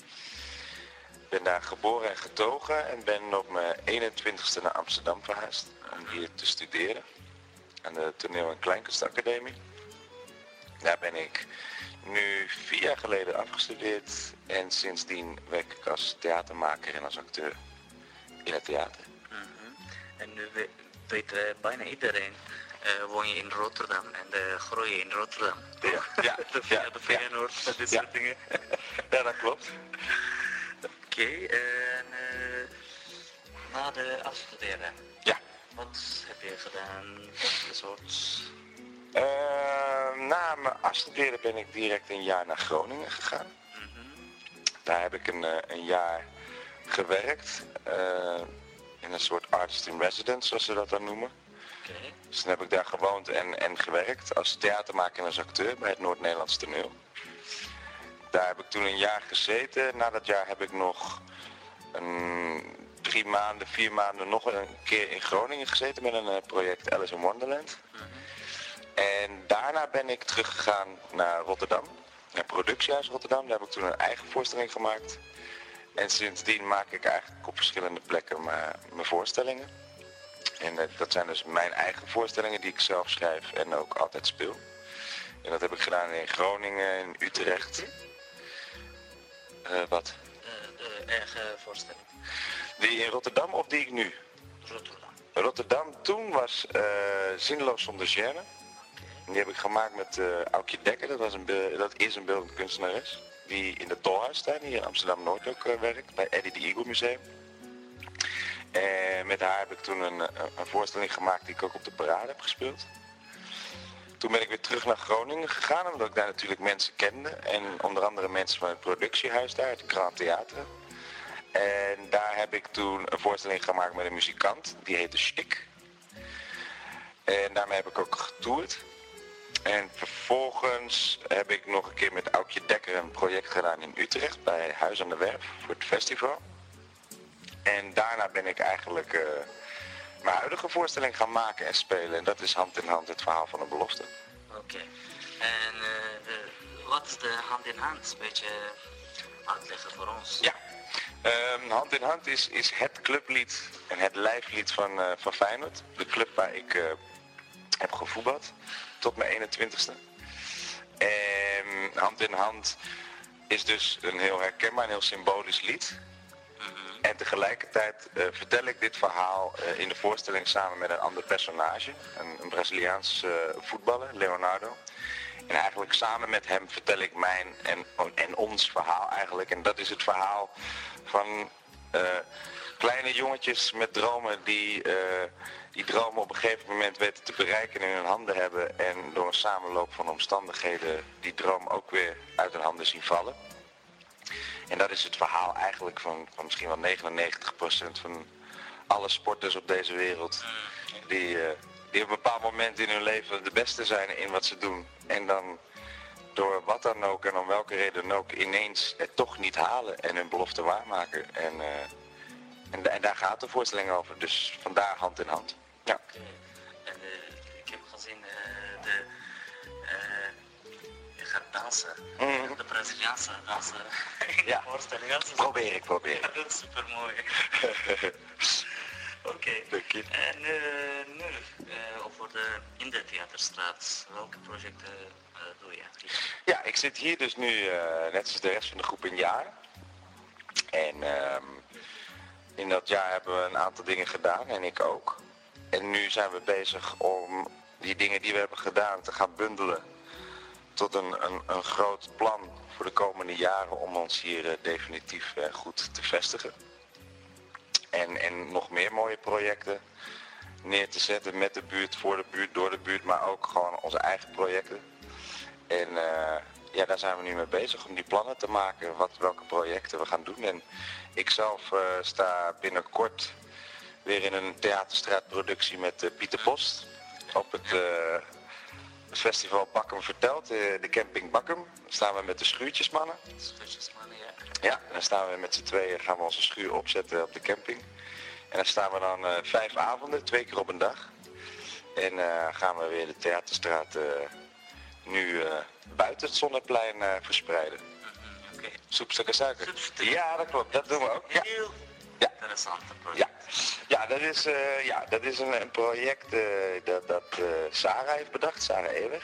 [SPEAKER 10] Ik ben daar geboren en getogen en ben op mijn eenentwintigste naar Amsterdam verhuisd om hier te studeren aan de Toneel- en Kleinkunstacademie. Daar ben ik nu vier jaar geleden afgestudeerd en sindsdien werk ik als theatermaker en als acteur in het theater.
[SPEAKER 9] Mm-hmm. En nu we, weet uh, bijna iedereen, uh, woon je in Rotterdam en uh, groei je in Rotterdam.
[SPEAKER 10] Ja, ja,
[SPEAKER 9] de
[SPEAKER 10] ja,
[SPEAKER 9] de Feyenoord, ja. dit
[SPEAKER 10] Ja.
[SPEAKER 9] soort dingen.
[SPEAKER 10] Ja, dat klopt.
[SPEAKER 9] Oké, okay, en uh, na de afstuderen,
[SPEAKER 10] Ja.
[SPEAKER 9] wat heb je gedaan? Wat een soort...
[SPEAKER 10] Uh, na mijn afstuderen ben ik direct een jaar naar Groningen gegaan.
[SPEAKER 9] Mm-hmm.
[SPEAKER 10] Daar heb ik een, uh, een jaar gewerkt. Uh, in een soort artist in residence, zoals ze dat dan noemen.
[SPEAKER 9] Okay.
[SPEAKER 10] Dus dan heb ik daar gewoond en, en gewerkt als theatermaker en als acteur bij het Noord-Nederlands Toneel. Daar heb ik toen een jaar gezeten. Na dat jaar heb ik nog een, drie maanden, vier maanden nog een keer in Groningen gezeten met een uh, project Alice in Wonderland.
[SPEAKER 9] Mm-hmm.
[SPEAKER 10] En daarna ben ik teruggegaan naar Rotterdam, naar het Productiehuis Rotterdam. Daar heb ik toen een eigen voorstelling gemaakt. En sindsdien maak ik eigenlijk op verschillende plekken mijn, mijn voorstellingen. En uh, dat zijn dus mijn eigen voorstellingen die ik zelf schrijf en ook altijd speel. En dat heb ik gedaan in Groningen, in Utrecht. Uh, wat?
[SPEAKER 9] Uh, de eigen voorstelling.
[SPEAKER 10] Die in Rotterdam of die ik nu?
[SPEAKER 9] Rotterdam.
[SPEAKER 10] Rotterdam toen was uh, Zinloos zonder gêne. Die heb ik gemaakt met uh, Aukje Dekker, dat, was een be- dat is een beeldend kunstenares. Die in de Tolhuistuin hier in Amsterdam-Noord ook uh, werkt, bij Eddie de Eagle Museum. En met haar heb ik toen een, een voorstelling gemaakt die ik ook op de parade heb gespeeld. Toen ben ik weer terug naar Groningen gegaan, omdat ik daar natuurlijk mensen kende. En onder andere mensen van het productiehuis daar, het Grand Theater. En daar heb ik toen een voorstelling gemaakt met een muzikant, die heette Chic. En daarmee heb ik ook getoerd. En vervolgens heb ik nog een keer met Aukje Dekker een project gedaan in Utrecht bij Huis aan de Werf voor het festival. En daarna ben ik eigenlijk uh, mijn huidige voorstelling gaan maken en spelen. En dat is hand in hand het verhaal van een belofte.
[SPEAKER 9] Oké. Okay. En uh, wat is de hand in hand? Een beetje uitleggen voor ons.
[SPEAKER 10] Ja. Um, hand in hand is, is het clublied en het lijflied van, uh, van Feyenoord. De club waar ik uh, heb gevoetbald tot mijn eenentwintigste. En hand in hand is dus een heel herkenbaar en heel symbolisch lied. En tegelijkertijd uh, vertel ik dit verhaal uh, in de voorstelling samen met een ander personage. Een, een Braziliaans uh, voetballer, Leonardo. En eigenlijk samen met hem vertel ik mijn en, en ons verhaal eigenlijk. En dat is het verhaal van uh, kleine jongetjes met dromen die uh, die dromen op een gegeven moment weten te bereiken en in hun handen hebben. En door een samenloop van omstandigheden die droom ook weer uit hun handen zien vallen. En dat is het verhaal eigenlijk van, van misschien wel negenennegentig procent van alle sporters op deze wereld. Die, uh, die op een bepaald moment in hun leven de beste zijn in wat ze doen. En dan door wat dan ook en om welke reden dan ook ineens het toch niet halen en hun belofte waarmaken. En, uh, en, en daar gaat de voorstelling over. Dus vandaar hand in hand. Ja.
[SPEAKER 9] En uh, ik heb gezien uh, de... Uh, je gaat dansen.
[SPEAKER 10] Mm.
[SPEAKER 9] De Braziliaanse dansen.
[SPEAKER 10] Ja.
[SPEAKER 9] Voorstelling. Dat is
[SPEAKER 10] Probeer ik, probeer ik.
[SPEAKER 9] Dat is super mooi. Oké.
[SPEAKER 10] Okay.
[SPEAKER 9] En uh, nu, uh, over de, in de Theaterstraat, welke projecten uh, doe je?
[SPEAKER 10] Ja, ik zit hier dus nu, uh, net als de rest van de groep, een jaar. En uh, in dat jaar hebben we een aantal dingen gedaan, en ik ook. En nu zijn we bezig om die dingen die we hebben gedaan te gaan bundelen tot een, een, een groot plan voor de komende jaren om ons hier uh, definitief uh, goed te vestigen. En, en nog meer mooie projecten neer te zetten met de buurt, voor de buurt, door de buurt, maar ook gewoon onze eigen projecten. En uh, ja, daar zijn we nu mee bezig om die plannen te maken, wat, welke projecten we gaan doen. En ik zelf uh, sta binnenkort weer in een Theaterstraatproductie met uh, Pieter Post op het uh, festival Bakkum Vertelt, uh, de camping Bakkum. Daar staan we met de Schuurtjesmannen.
[SPEAKER 9] Schuurtjesmannen, ja.
[SPEAKER 10] Ja, dan staan we met z'n tweeën, gaan we onze schuur opzetten op de camping. En dan staan we dan uh, vijf avonden, twee keer op een dag. En uh, gaan we weer de Theaterstraat uh, nu uh, buiten het Zonneplein uh, verspreiden.
[SPEAKER 9] Mm-hmm, okay.
[SPEAKER 10] Soepstukken suiker.
[SPEAKER 9] Soepstukken.
[SPEAKER 10] Ja, dat klopt, dat doen we ook. Ja.
[SPEAKER 9] Heel
[SPEAKER 10] ja.
[SPEAKER 9] interessant project.
[SPEAKER 10] Ja, ja dat is, uh, ja, dat is een, een project uh, dat, dat uh, Sarah heeft bedacht, Sarah Ewer.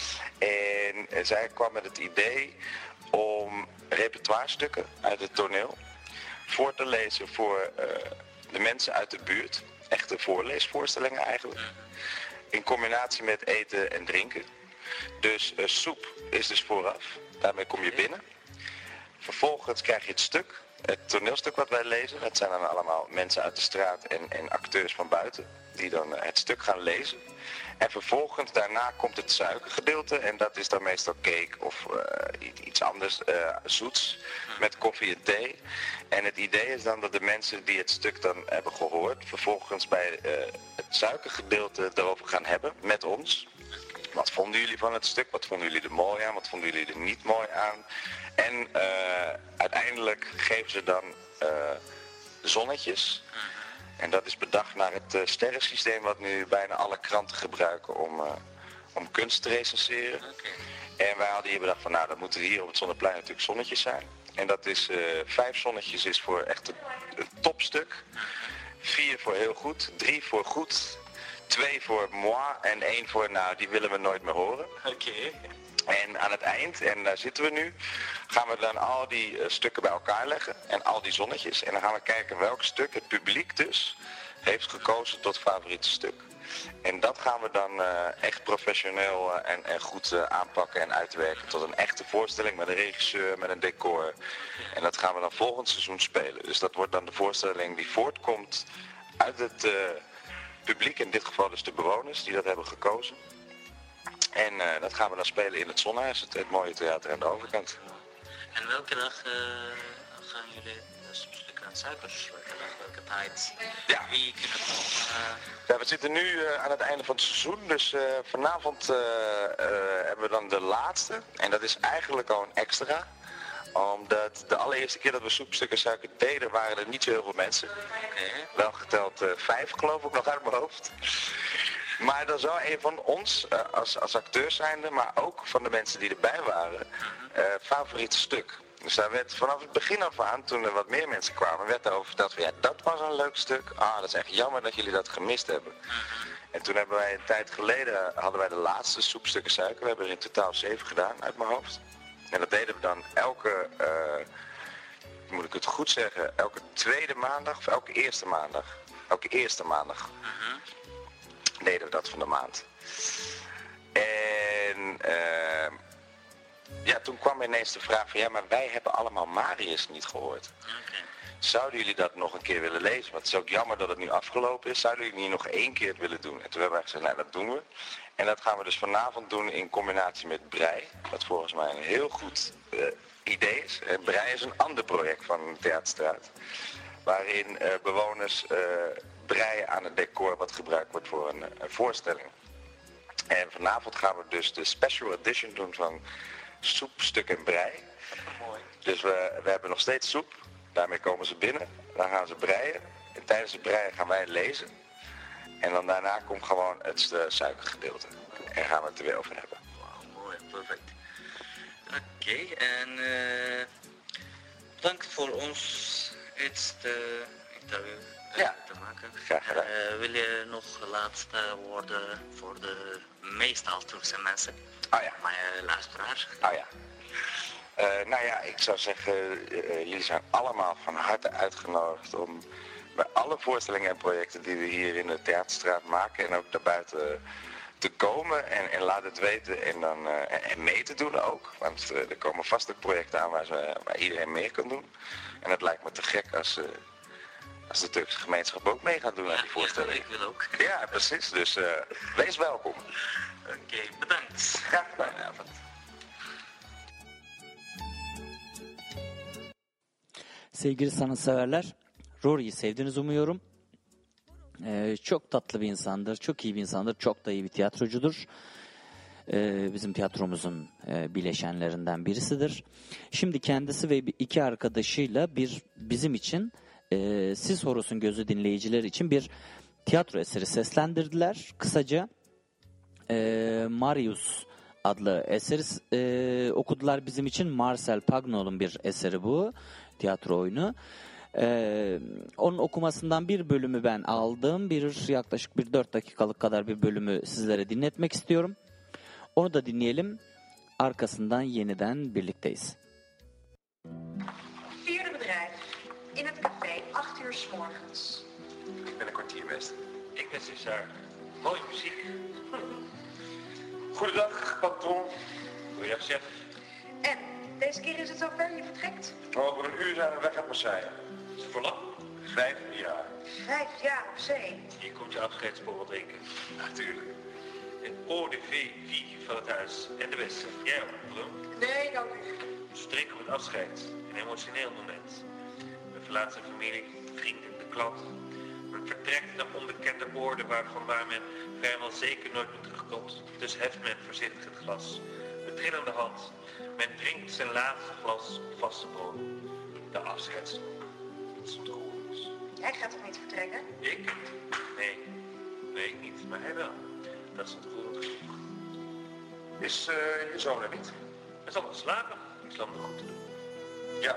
[SPEAKER 10] En uh, zij kwam met het idee om repertoirestukken uit het toneel voor te lezen voor uh, de mensen uit de buurt. Echte voorleesvoorstellingen eigenlijk. In combinatie met eten en drinken. Dus uh, soep is dus vooraf. Daarmee kom je binnen. Vervolgens krijg je het stuk. Het toneelstuk wat wij lezen. Dat zijn dan allemaal mensen uit de straat en, en acteurs van buiten. Die dan uh, het stuk gaan lezen. En vervolgens daarna komt het suikergedeelte. En dat is dan meestal cake of uh, iets anders uh, zoets. Met koffie en thee. En het idee is dan dat de mensen die het stuk dan hebben gehoord. Vervolgens bij uh, het suikergedeelte erover gaan hebben met ons. Wat vonden jullie van het stuk? Wat vonden jullie er mooi aan? Wat vonden jullie er niet mooi aan? En uh, uiteindelijk geven ze dan uh, zonnetjes. En dat is bedacht naar het uh, sterrensysteem wat nu bijna alle kranten gebruiken om, uh, om kunst te recenseren. Okay. En wij hadden hier bedacht van nou, dan moeten hier op het Zonneplein natuurlijk zonnetjes zijn. En dat is uh, vijf zonnetjes is voor echt een, een topstuk. Vier voor heel goed, drie voor goed, twee voor moi en één voor nou, die willen we nooit meer horen.
[SPEAKER 9] Oké. Okay.
[SPEAKER 10] En aan het eind, en daar zitten we nu, gaan we dan al die uh, stukken bij elkaar leggen en al die zonnetjes. En dan gaan we kijken welk stuk het publiek dus heeft gekozen tot favoriete stuk. En dat gaan we dan uh, echt professioneel uh, en, en goed uh, aanpakken en uitwerken tot een echte voorstelling met een regisseur, met een decor. En dat gaan we dan volgend seizoen spelen. Dus dat wordt dan de voorstelling die voortkomt uit het uh, publiek, in dit geval dus de bewoners die dat hebben gekozen. En uh, dat gaan we dan spelen in het Zonhuis, het, het mooie theater aan de overkant.
[SPEAKER 9] En welke dag uh, gaan jullie stukken aan suikers? Welke dag, welke tijd?
[SPEAKER 10] Ja.
[SPEAKER 9] Wie kunnen het nog? Uh...
[SPEAKER 10] Ja, we zitten nu uh, aan het einde van het seizoen, dus uh, vanavond uh, uh, hebben we dan de laatste. En dat is eigenlijk al een extra. Omdat de allereerste keer dat we soepstukken suiker deden, waren er niet zo heel veel mensen.
[SPEAKER 9] Okay.
[SPEAKER 10] Wel geteld uh, vijf geloof ik nog uit mijn hoofd. Maar dat is wel een van ons, uh, als, als acteurs zijnde, maar ook van de mensen die erbij waren, uh, favoriete stuk. Dus daar werd vanaf het begin af aan, toen er wat meer mensen kwamen, werd daarover verteld van ja, dat was een leuk stuk. Ah, dat is echt jammer dat jullie dat gemist hebben. En toen hebben wij een tijd geleden, hadden wij de laatste soepstukken suiker. We hebben er in totaal zeven gedaan uit mijn hoofd. En dat deden we dan elke uh, moet ik het goed zeggen, elke tweede maandag of elke eerste maandag? Elke eerste maandag
[SPEAKER 9] Mhm.
[SPEAKER 10] deden we dat van de maand. En uh, ja, toen kwam ineens de vraag van ja, maar wij hebben allemaal Marius niet gehoord.
[SPEAKER 9] Oké.
[SPEAKER 10] Zouden jullie dat nog een keer willen lezen? Want het is ook jammer dat het nu afgelopen is. Zouden jullie niet nog één keer het willen doen? En toen hebben we gezegd, nou dat doen we. En dat gaan we dus vanavond doen in combinatie met Brei. Wat volgens mij een heel goed uh, idee is. En Brei is een ander project van de Theaterstraat. Waarin uh, bewoners uh, breien aan het decor wat gebruikt wordt voor een, een voorstelling. En vanavond gaan we dus de special edition doen van Soep, Stuk en Brei.
[SPEAKER 9] Mooi.
[SPEAKER 10] Dus we, we hebben nog steeds soep. Daarmee komen ze binnen. Dan gaan ze breien. En tijdens het breien gaan wij lezen. En dan daarna komt gewoon het uh, suikergedeelte. En gaan we het er weer over hebben.
[SPEAKER 9] Wauw, mooi, perfect. Oké, okay, en uh, bedankt voor ons het interview uh,
[SPEAKER 10] ja.
[SPEAKER 9] te maken.
[SPEAKER 10] Graag gedaan.
[SPEAKER 9] Uh, wil je nog laatste woorden voor de meestal Turkse mensen?
[SPEAKER 10] Oh ja.
[SPEAKER 9] Mijn luisteraar.
[SPEAKER 10] Oh ja. Uh, nou ja, ik zou zeggen, uh, jullie zijn allemaal van harte uitgenodigd om bij alle voorstellingen en projecten die we hier in de Theaterstraat maken en ook daarbuiten te komen en, en laat het weten en, dan, uh, en, en mee te doen ook. Want uh, er komen vast ook projecten aan waar, ze, waar iedereen mee kan doen. En het lijkt me te gek als, uh, als de Turkse gemeenschap ook mee gaat doen
[SPEAKER 9] ja,
[SPEAKER 10] aan die voorstelling.
[SPEAKER 9] Ja, ik wil ook.
[SPEAKER 10] Ja, precies. Dus uh, wees welkom.
[SPEAKER 9] Oké, okay, bedankt.
[SPEAKER 10] Graag gedaan. Avond.
[SPEAKER 4] Sevgili sanatseverler, Rory'yi sevdiğinizi umuyorum. Ee, çok tatlı bir insandır, çok iyi bir insandır, çok da iyi bir tiyatrocudur. Ee, bizim tiyatromuzun e, bileşenlerinden birisidir. Şimdi kendisi ve iki arkadaşıyla bir bizim için e, Siz Horus'un Gözü dinleyicileri için bir tiyatro eseri seslendirdiler. Kısaca e, Marius adlı eseri e, okudular bizim için. Marcel Pagnol'un bir eseri bu. Tiyatro oyunu. Ee, onun okumasından bir bölümü ben aldım. Bir yaklaşık bir dört dakikalık kadar bir bölümü sizlere dinletmek istiyorum. Onu da dinleyelim. Arkasından yeniden birlikteyiz.
[SPEAKER 11] Vierde bedrijf. In het café, acht uur 's morgens.
[SPEAKER 10] Ik ben een kwartier best.
[SPEAKER 2] Ik ben César. Mooie muziek.
[SPEAKER 10] Goedendag, patron.
[SPEAKER 2] Goeiedag, chef.
[SPEAKER 11] En, deze keer is het zover, je vertrekt?
[SPEAKER 10] Over een uur zijn we weg uit Marseille.
[SPEAKER 2] Is het voor lang?
[SPEAKER 10] Vijf jaar.
[SPEAKER 11] Vijf jaar op zee.
[SPEAKER 2] Hier komt je afscheidsborrel drinken.
[SPEAKER 10] Natuurlijk.
[SPEAKER 2] Een eau de vie van het huis. En de beste. Jij ook, Brum?
[SPEAKER 11] Nee, dank u.
[SPEAKER 2] Ze drinken op het afscheid. Een emotioneel moment. Men verlaat zijn familie, vrienden, de klant. Men vertrekt naar onbekende oorden waarvan waar men vrijwel zeker nooit meer terugkomt. Dus heft men voorzichtig het glas. Met trillende hand. Men drinkt zijn laatste glas op vaste bodem. De afscheidstoel. Het is ontroerend.
[SPEAKER 11] Jij gaat toch niet vertrekken?
[SPEAKER 2] Ik? Nee. Nee, ik niet. Maar hij wel. Dat is ontroerend genoeg.
[SPEAKER 10] Is uh, je zoon er niet?
[SPEAKER 2] Hij zal nog slapen. Ik zal hem nog goed te doen.
[SPEAKER 10] Ja.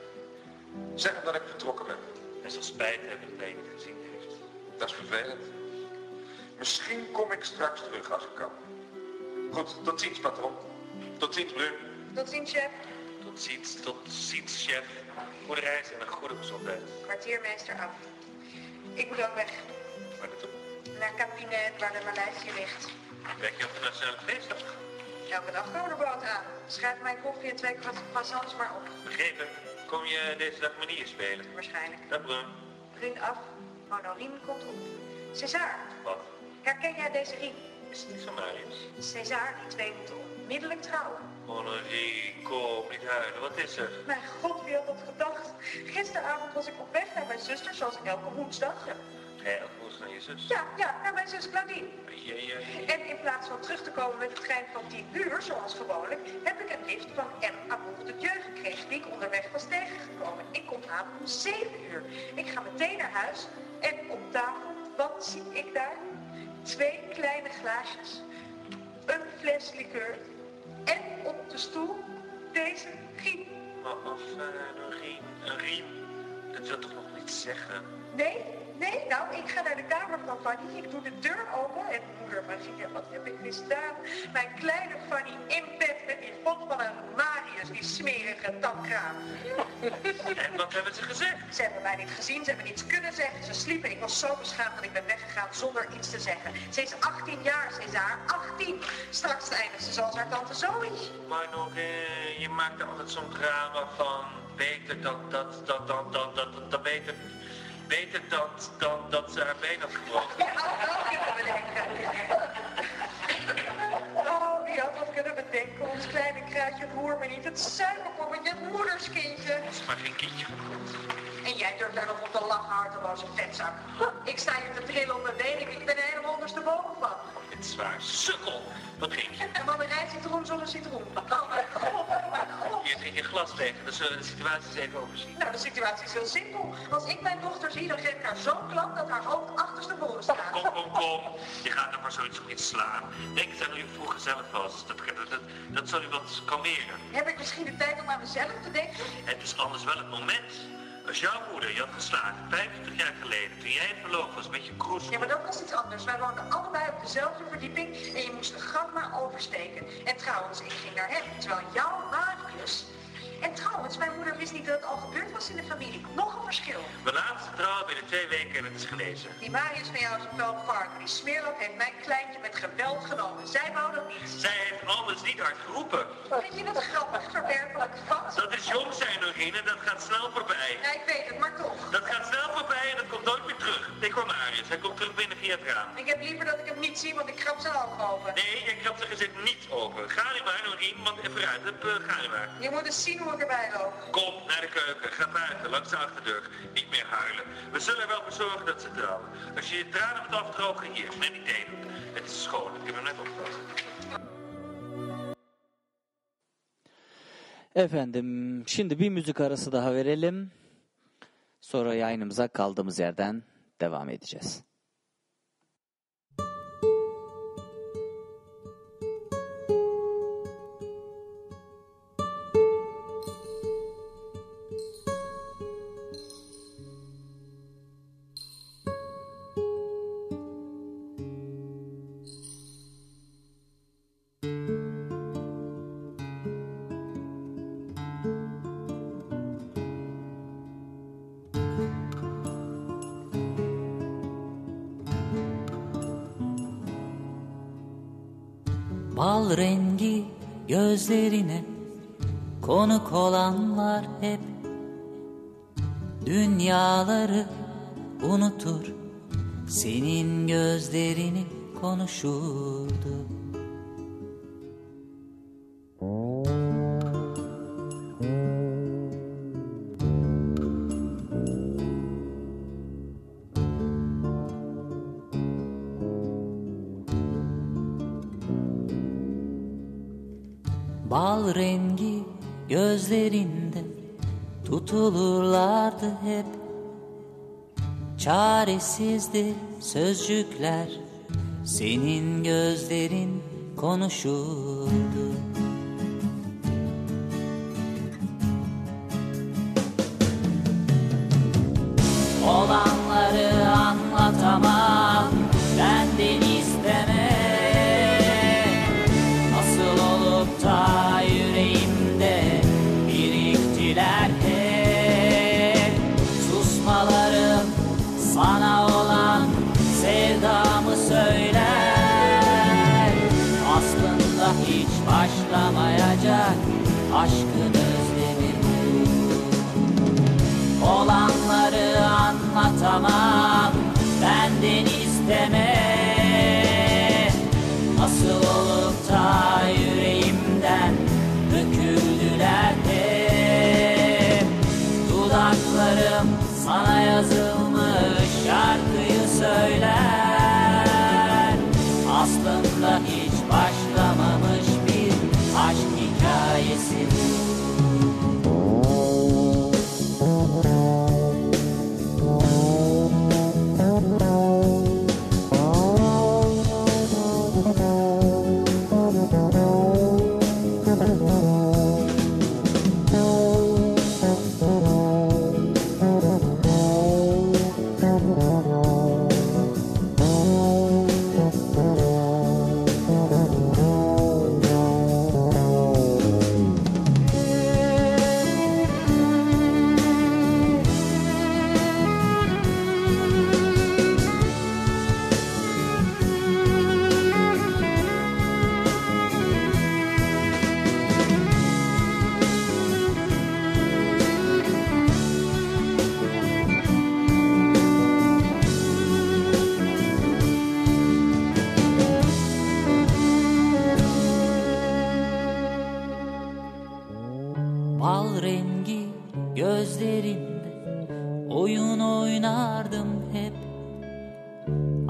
[SPEAKER 10] Zeg hem dat ik vertrokken ben.
[SPEAKER 2] Hij zal spijt hebben dat hij je niet gezien heeft.
[SPEAKER 10] Dat is vervelend. Misschien kom ik straks terug als ik kan. Goed, tot ziens, patron. Tot ziens, Brum.
[SPEAKER 11] Tot ziens, chef.
[SPEAKER 2] Tot ziens, tot ziens, chef. Goede reis en een goede gezondheid.
[SPEAKER 11] Kwartiermeester af. Ik moet ook weg.
[SPEAKER 2] Waar naartoe?
[SPEAKER 11] Naar Cabinet, waar de Maleisië ligt.
[SPEAKER 2] Werk je op de Nationale Feestdag?
[SPEAKER 11] Elke dag komen er boot aan. Schrijf mijn koffie en twee croissants maar op.
[SPEAKER 2] Begrepen. Kom je deze dag manier spelen?
[SPEAKER 11] Waarschijnlijk.
[SPEAKER 2] Dag, Brum.
[SPEAKER 11] Vriend af. Honorine komt op. César.
[SPEAKER 2] Wat?
[SPEAKER 11] Herken jij deze riem?
[SPEAKER 2] Is het niet van Marius?
[SPEAKER 11] César, die twee moeten onmiddellijk trouwen.
[SPEAKER 2] Honorine, kom, niet huilen. Wat is er?
[SPEAKER 11] Mijn god, wie had dat gedacht? Gisteravond was ik op weg naar mijn zuster, zoals elke woensdag.
[SPEAKER 2] Ja. Hé, elke woensdag naar je zus?
[SPEAKER 11] Ja, ja, naar mijn zus Claudine.
[SPEAKER 2] Jee, jee, jee.
[SPEAKER 11] En in plaats van terug te komen met de trein van tien uur, zoals gewoonlijk, heb ik een lift van M. Amour de Dieu gekregen, die ik onderweg was tegengekomen. Ik kom aan om zeven uur. Ik ga meteen naar huis en op tafel, wat zie ik daar? Twee kleine glaasjes, een fles liqueur en op de stoel deze riem.
[SPEAKER 2] Maar of uh, een riem, een riem, dat wil toch nog niet zeggen?
[SPEAKER 11] Nee, nee, nou, ik ga naar de kamer van Fanny. Ik doe de deur open en moeder Maria, wat heb ik misdaan? Mijn kleine Fanny in bed met die god van een Marius, die smerige tamkraam.
[SPEAKER 2] En wat hebben ze gezegd?
[SPEAKER 11] Ze hebben mij niet gezien, ze hebben niets kunnen zeggen. Ze sliepen en ik was zo beschaamd dat ik ben weggegaan zonder iets te zeggen. Ze is achttien jaar, ze is haar achttien. Straks eindigt ze zoals haar tante Zoe.
[SPEAKER 2] Maar nog, eh, je maakt er altijd zo'n drama van. Beter dat, dat, dat, dat, dat, dat, dat, dat beter, beter dat, dan dat ze haar been had gebroken.
[SPEAKER 11] Ja, dat had ik kunnen bedenken. Oh, wie had dat kunnen bedenken? Ons kleine kruidje, het hoort me niet. Het suikerpoppetje, het moederskindje.
[SPEAKER 2] Het is maar geen kindje gekocht.
[SPEAKER 11] En jij durft daar nog op te lachen, harteloze vetzak. Ik sta hier te trillen op mijn benen, ik ben er helemaal ondersteboven van.
[SPEAKER 2] Het is waar, sukkel. Wat drink je?
[SPEAKER 11] Een mandarijn citroen zonder citroen. Oh mijn god, oh mijn god.
[SPEAKER 2] Hier drink je glas tegen, dan zullen we de situatie eens even overzien.
[SPEAKER 11] Nou, de situatie is heel simpel. Als ik mijn dochter zie, dan geef ik haar zo'n klap dat haar hoofd achterstevoren staat.
[SPEAKER 2] Kom, kom, kom. Je gaat er maar zoiets op iets slaan. Denk eens aan hoe je vroeger zelf was. Dat, dat, dat, dat zal u wat kalmeren.
[SPEAKER 11] Heb ik misschien de tijd om aan mezelf te denken?
[SPEAKER 2] Het is anders wel het moment. Als jouw moeder je had geslagen, vijfentwintig jaar geleden, toen jij verloofd was met je kroes.
[SPEAKER 11] Ja, maar dat was iets anders. Wij woonden allebei op dezelfde verdieping en je moest de gang maar oversteken. En trouwens, ik ging naar hem, terwijl jouw Marius... En trouwens, mijn moeder wist niet dat het al gebeurd was in de familie. Nog een verschil.
[SPEAKER 2] We laten ze trouwen binnen twee weken en het is gelezen.
[SPEAKER 11] Die Marius van jou is een vuilvarken. Die smeerlap heeft mijn kleintje met geweld genomen. Zij wou dat niet.
[SPEAKER 2] Zij heeft anders niet hard geroepen.
[SPEAKER 11] Vind je het grappig, verwerpelijk, vat?
[SPEAKER 2] Dat is jong zijn, Norine, dat gaat snel voorbij.
[SPEAKER 11] Ja, ik weet het, maar toch.
[SPEAKER 2] Dat gaat snel voorbij en dat komt nooit meer terug. Ik hoor Marius, hij komt terug binnen via het raam.
[SPEAKER 11] Ik heb liever dat ik hem niet zie, want ik krab zijn ogen open.
[SPEAKER 2] Nee, je krabt zijn gezicht niet open. Ga nu maar, Norine, want vooruit, uh, ga nu maar.
[SPEAKER 11] Je moet eens zien hoe ik erbij loop.
[SPEAKER 2] Kom naar de keuken, ga buiten, langs de achterdeur. Niet meer huilen. We zullen er wel voor zorgen dat ze trouwen. Als je je tranen moet afdrogen, hier, met die thee doen. Het is schoon, ik heb hem net opgevat.
[SPEAKER 4] Efendim, şimdi bir müzik arası daha verelim. Sonra yayınımıza kaldığımız yerden devam edeceğiz.
[SPEAKER 12] Bal rengi gözlerine konuk olanlar hep dünyaları unutur, senin gözlerini konuşurdu. Bal rengi gözlerinde tutulurlardı hep. Çaresizdi sözcükler, senin gözlerin konuşurdu. Olanları anlatamam, benden isteme. Nasıl olup da yüreğimde biriktiler hep. Susmalarım sana olan sevdamı söyler. Aslında hiç başlamayacak aşkın özlemi bu. Olanları anlatamam, benden isteme. Nasıl olup da yüreğimden döküldüler hep. Dudaklarım sana yazılmış şarkıyı söyler. Aslında hiç başlamamış bir aşk hikayesi bu.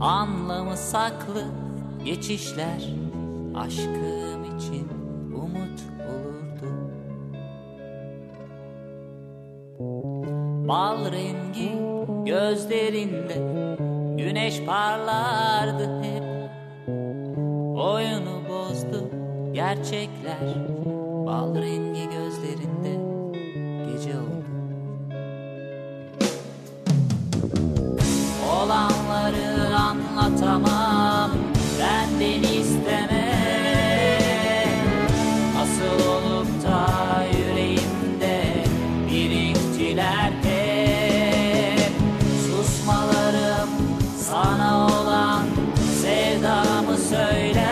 [SPEAKER 12] anlamı saklı geçişler aşkım için umut olurdu. Bal rengi gözlerinde güneş parlardı hep. Oyunu bozdu gerçekler, bal rengi gözlerinde gece oldu. Olanları anlatamam, benden isteme. Nasıl olup da yüreğimde biriktiler hep. Susmalarım sana olan sevdamı söyler.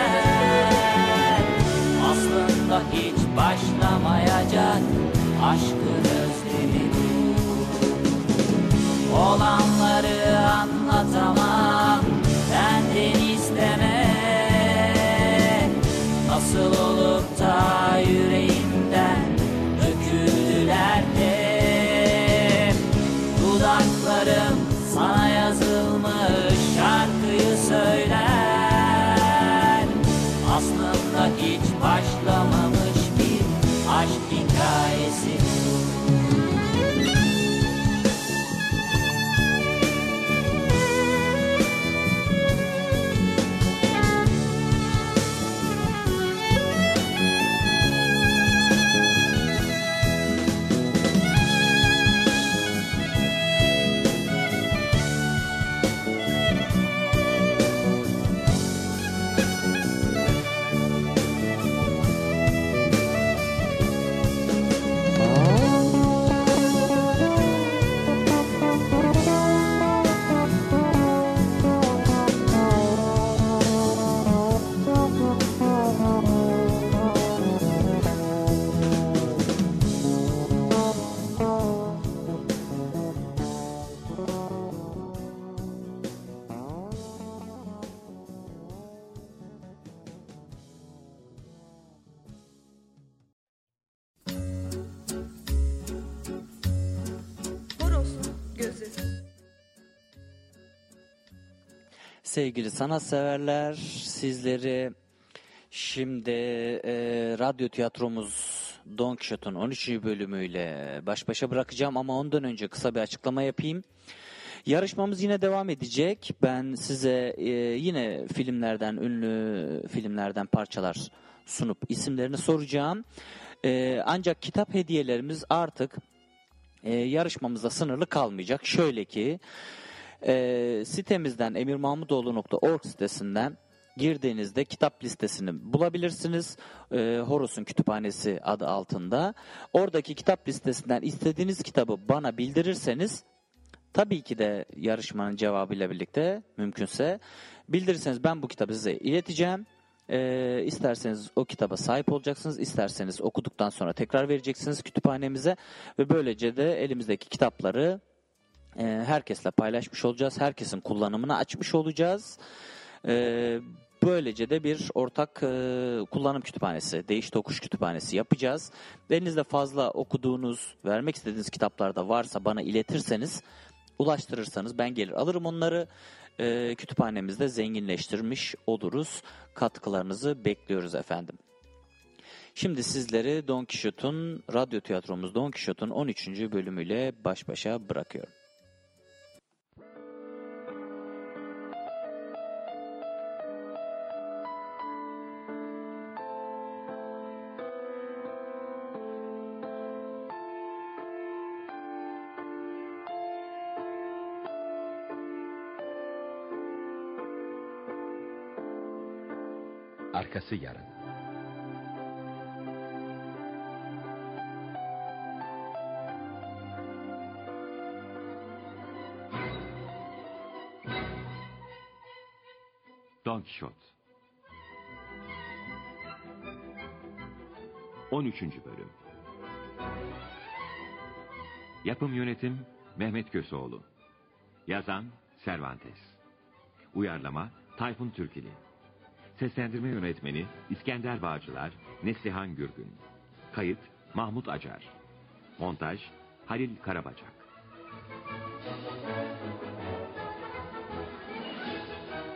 [SPEAKER 12] Aslında hiç başlamayacak aşkın özlemi. Olanları anlatamam, benden isteme. Nasıl olup da yüreğimden döküldüler hep. Dudaklarım sana yazılmış şarkıyı söyler. Aslında hiç başlamamış bir aşk hikayesi.
[SPEAKER 4] Sevgili sanatseverler, sizleri şimdi e, radyo tiyatromuz Don Quixote'un on üçüncü bölümüyle baş başa bırakacağım ama ondan önce kısa bir açıklama yapayım. Yarışmamız yine devam edecek. Ben size e, yine filmlerden, ünlü filmlerden parçalar sunup isimlerini soracağım. E, ancak kitap hediyelerimiz artık e, yarışmamızda sınırlı kalmayacak. Şöyle ki, E, sitemizden emir mahmudoğlu nokta org sitesinden girdiğinizde kitap listesini bulabilirsiniz. E, Horus'un Kütüphanesi adı altında. Oradaki kitap listesinden istediğiniz kitabı bana bildirirseniz, tabii ki de yarışmanın cevabıyla birlikte mümkünse bildirirseniz ben bu kitabı size ileteceğim. E, isterseniz o kitaba sahip olacaksınız, isterseniz okuduktan sonra tekrar vereceksiniz kütüphanemize ve böylece de elimizdeki kitapları herkesle paylaşmış olacağız. Herkesin kullanımına açmış olacağız. Böylece de bir ortak kullanım kütüphanesi, değiş tokuş kütüphanesi yapacağız. Elinizde fazla okuduğunuz, vermek istediğiniz kitaplar da varsa bana iletirseniz, ulaştırırsanız ben gelir alırım onları. Kütüphanemizde zenginleştirmiş oluruz. Katkılarınızı bekliyoruz efendim. Şimdi sizleri Don Quixote'un, radyo tiyatromuz Don Quixote'un on üçüncü bölümüyle baş başa bırakıyorum.
[SPEAKER 13] Arkası yarın. Don Quixote on üçüncü bölüm. Yapım yönetim Mehmet Köseoğlu. Yazan Cervantes. Uyarlama Tayfun Türkili. Seslendirme yönetmeni İskender Bağcılar, Neslihan Gürgün. Kayıt Mahmut Acar. Montaj Halil Karabacak.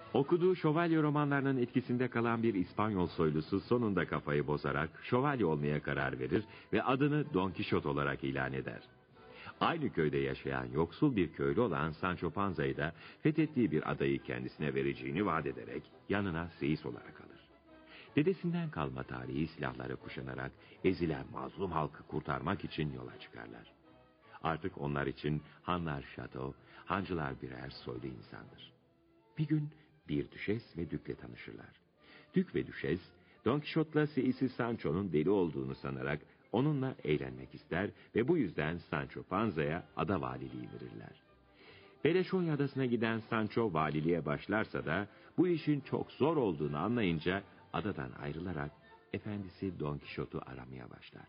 [SPEAKER 13] Okuduğu şövalye romanlarının etkisinde kalan bir İspanyol soylusu sonunda kafayı bozarak şövalye olmaya karar verir ve adını Don Quixote olarak ilan eder. Aynı köyde yaşayan yoksul bir köylü olan Sancho Panza'yı da fethettiği bir adayı kendisine vereceğini vaat ederek yanına seyis olarak alır. Dedesinden kalma tarihi silahları kuşanarak ezilen mazlum halkı kurtarmak için yola çıkarlar. Artık onlar için hanlar şato, hancılar birer soylu insandır. Bir gün bir düşes ve dükle tanışırlar. Dük ve düşes, Don Quixote'la seyisi Sancho'nun deli olduğunu sanarak onunla eğlenmek ister ve bu yüzden Sancho Panza'ya ada valiliği verirler. Beleşonya adasına giden Sancho valiliğe başlarsa da bu işin çok zor olduğunu anlayınca adadan ayrılarak efendisi Don Quixote'u aramaya başlar.